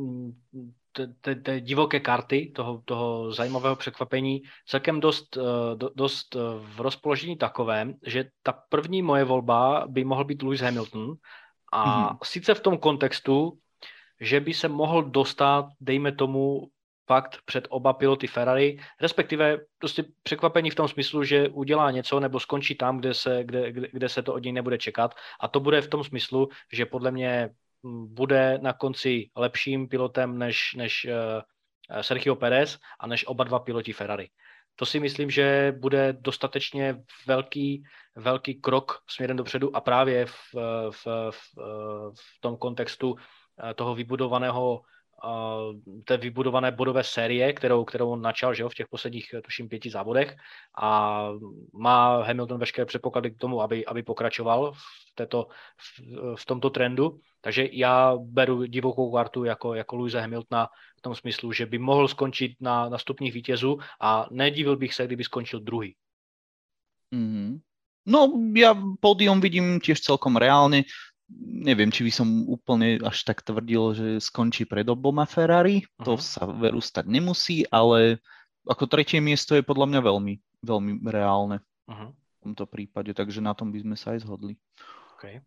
S1: té divoké karty, toho, toho zajímavého překvapení, celkem dost, do, dost v rozpoložení takovém, že ta první moje volba by mohl být Lewis Hamilton a mm-hmm. sice v tom kontextu, že by se mohl dostat, dejme tomu, fakt před oba piloty Ferrari, respektive prostě překvapení v tom smyslu, že udělá něco nebo skončí tam, kde se, kde, kde, kde se to od něj nebude čekat. A to bude v tom smyslu, že podle mě bude na konci lepším pilotem než, než uh, Sergio Pérez a než oba dva piloti Ferrari. To si myslím, že bude dostatečně velký, velký krok směrem dopředu a právě v, v, v, v tom kontextu toho vybudovaného, té vybudované bodové série, kterou, kterou on načal, že jo, v těch posledních, tuším, pěti závodech a má Hamilton veškeré předpoklady k tomu, aby, aby pokračoval v, této, v, v tomto trendu. Takže já beru divokou kartu jako, jako Lewise Hamiltona v tom smyslu, že by mohl skončit na, na stupních vítězů a nedivil bych se, kdyby skončil druhý.
S2: Mm-hmm. No, ja pódium vidím tiež celkom reálne. Neviem, či by som úplne až tak tvrdil, že skončí pred oboma Ferrari. Uh-huh. To sa veru stať nemusí, ale ako tretie miesto je podľa mňa veľmi, veľmi reálne.
S1: Uh-huh.
S2: V tomto prípade, takže na tom by sme sa aj zhodli.
S1: Okay.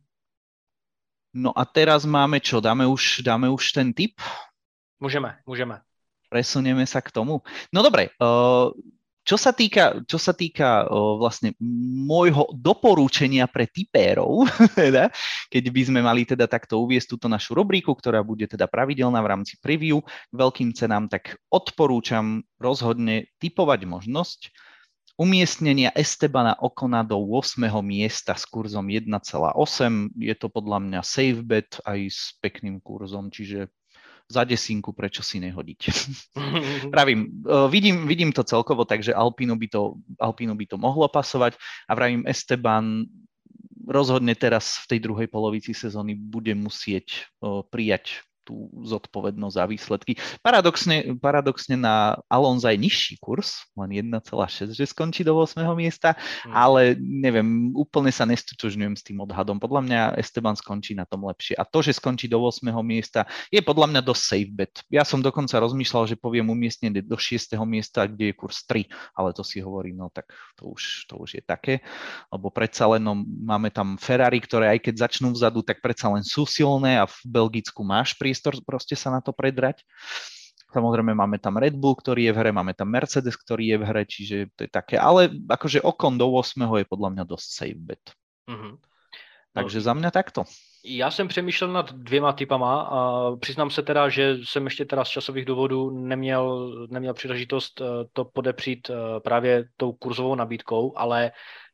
S2: No a teraz máme čo? Dáme už, dáme už ten tip?
S1: Môžeme, môžeme.
S2: Presunieme sa k tomu. No dobre, uh, čo sa týka, čo sa týka uh, vlastne môjho doporúčenia pre tipérov, teda, keď by sme mali teda takto uviesť túto našu rubriku, ktorá bude teda pravidelná v rámci preview k veľkým cenám, tak odporúčam rozhodne tipovať možnosť umiestnenia Estebana Ocona do ôsmeho miesta s kurzom jeden celá osem. Je to podľa mňa safe bet aj s pekným kurzom, čiže za desinku, prečo si nehodiť. Pravím, vidím, vidím to celkovo, takže Alpinu by to, Alpinu by to mohlo pasovať a vravím, Esteban rozhodne teraz v tej druhej polovici sezóny bude musieť o, prijať tú zodpovednosť za výsledky. Paradoxne, paradoxne na Alonza je nižší kurz, len jeden celá šesť, že skončí do ôsmeho miesta, hmm. ale neviem, úplne sa nestotožňujem s tým odhadom. Podľa mňa Esteban skončí na tom lepšie. A to, že skončí do ôsmeho miesta, je podľa mňa dosť safe bet. Ja som dokonca rozmýšľal, že poviem umiestnenie do šiesteho miesta, kde je kurz tri, ale to si hovorím, no tak to už, to už je také, lebo predsa len no, máme tam Ferrari, ktoré aj keď začnú vzadu, tak predsa len sú silné a v Belgicku máš prísť proste sa na to predrať. Samozrejme máme tam Red Bull, ktorý je v hre, máme tam Mercedes, ktorý je v hre, čiže to je také, ale akože Ocon do ôsmeho je podľa mňa dosť safe bet. Mm-hmm. Takže no, za mňa takto.
S1: Já jsem přemýšlel nad dvěma typama a přiznám se teda, že jsem ještě teda z časových důvodů neměl, neměl příležitost to podepřít právě tou kurzovou nabídkou, ale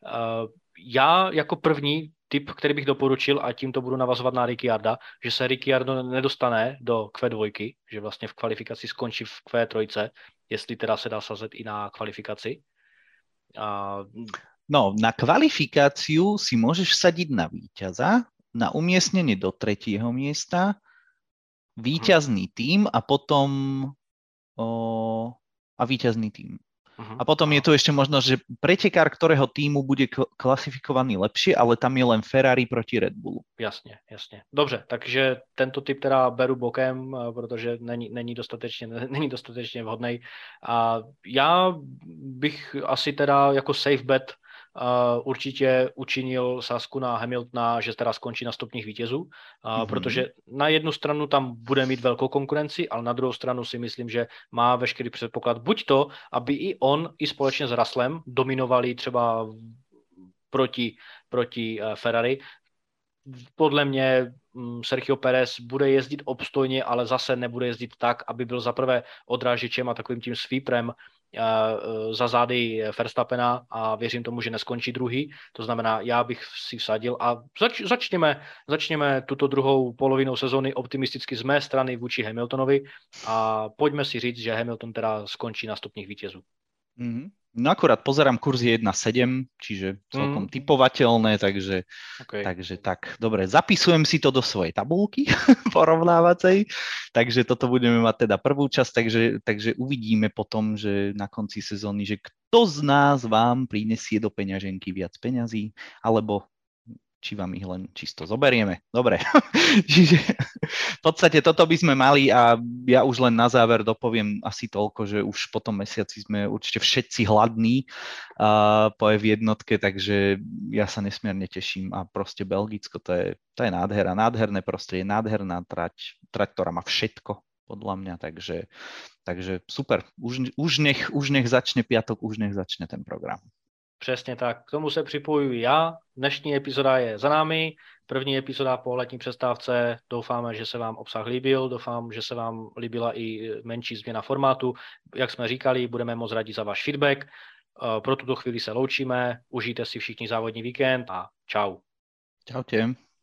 S1: já jako první tip, který bych doporučil, a tímto budu navazovat na Ricciarda, že se Ricciardo nedostane do Q dva, že vlastně v kvalifikaci skončí v Q tři, jestli teda se dá sazet i na kvalifikaci. A...
S2: No, na kvalifikáciu si môžeš sadiť na víťaza, na umiestnenie do tretieho miesta, víťazný tím a potom o, a víťazný tím. Uh-huh. A potom je tu ešte možnosť, že pretekár ktorého týmu bude klasifikovaný lepšie, ale tam je len Ferrari proti Red Bullu.
S1: Jasně, jasně. Dobře, takže tento typ teda beru bokem, protože není, není, dostatečně, není dostatečně vhodný. A já bych asi teda jako safe bet Uh, určitě učinil sázku na Hamiltona, že teda skončí na stupních vítězů, uh, mm-hmm. protože na jednu stranu tam bude mít velkou konkurenci, ale na druhou stranu si myslím, že má veškerý předpoklad buď to, aby i on, i společně s Russellem dominovali třeba proti, proti uh, Ferrari. Podle mě um, Sergio Pérez bude jezdit obstojně, ale zase nebude jezdit tak, aby byl zaprvé odrážečem a takovým tím sweeprem za zády Verstappena a věřím tomu, že neskončí druhý. To znamená, já bych si vsadil a zač, začněme, začněme tuto druhou polovinou sezóny optimisticky z mé strany vůči Hamiltonovi a pojďme si říct, že Hamilton teda skončí na stupních vítězů.
S2: Mm-hmm. No akurát pozerám, kurz je jeden sedem, čiže celkom mm. typovateľné, takže, okay. takže tak, dobre, zapisujem si to do svojej tabulky porovnávacej, takže toto budeme mať teda prvú časť, takže, takže uvidíme potom, že na konci sezóny, že kto z nás vám prinesie do peňaženky viac peňazí, alebo či vám ich len čisto zoberieme. Dobre, čiže v podstate toto by sme mali a ja už len na záver dopoviem asi toľko, že už po tom mesiaci sme určite všetci hladní uh, po ef jednotke, takže ja sa nesmierne teším a proste Belgicko, to je, to je nádhera, nádherné prostredie, nádherná trať, trať, ktorá má všetko podľa mňa, takže, takže super, už, už, nech, už nech začne piatok, už nech začne ten program.
S1: Přesně tak, k tomu se připojuji já. Dnešní epizoda je za námi, první epizoda po letní přestávce. Doufáme, že se vám obsah líbil, doufám, že se vám líbila i menší změna formátu. Jak jsme říkali, budeme moc rádi za váš feedback. Pro tuto chvíli se loučíme, užijte si všichni závodní víkend a čau.
S2: Čaute.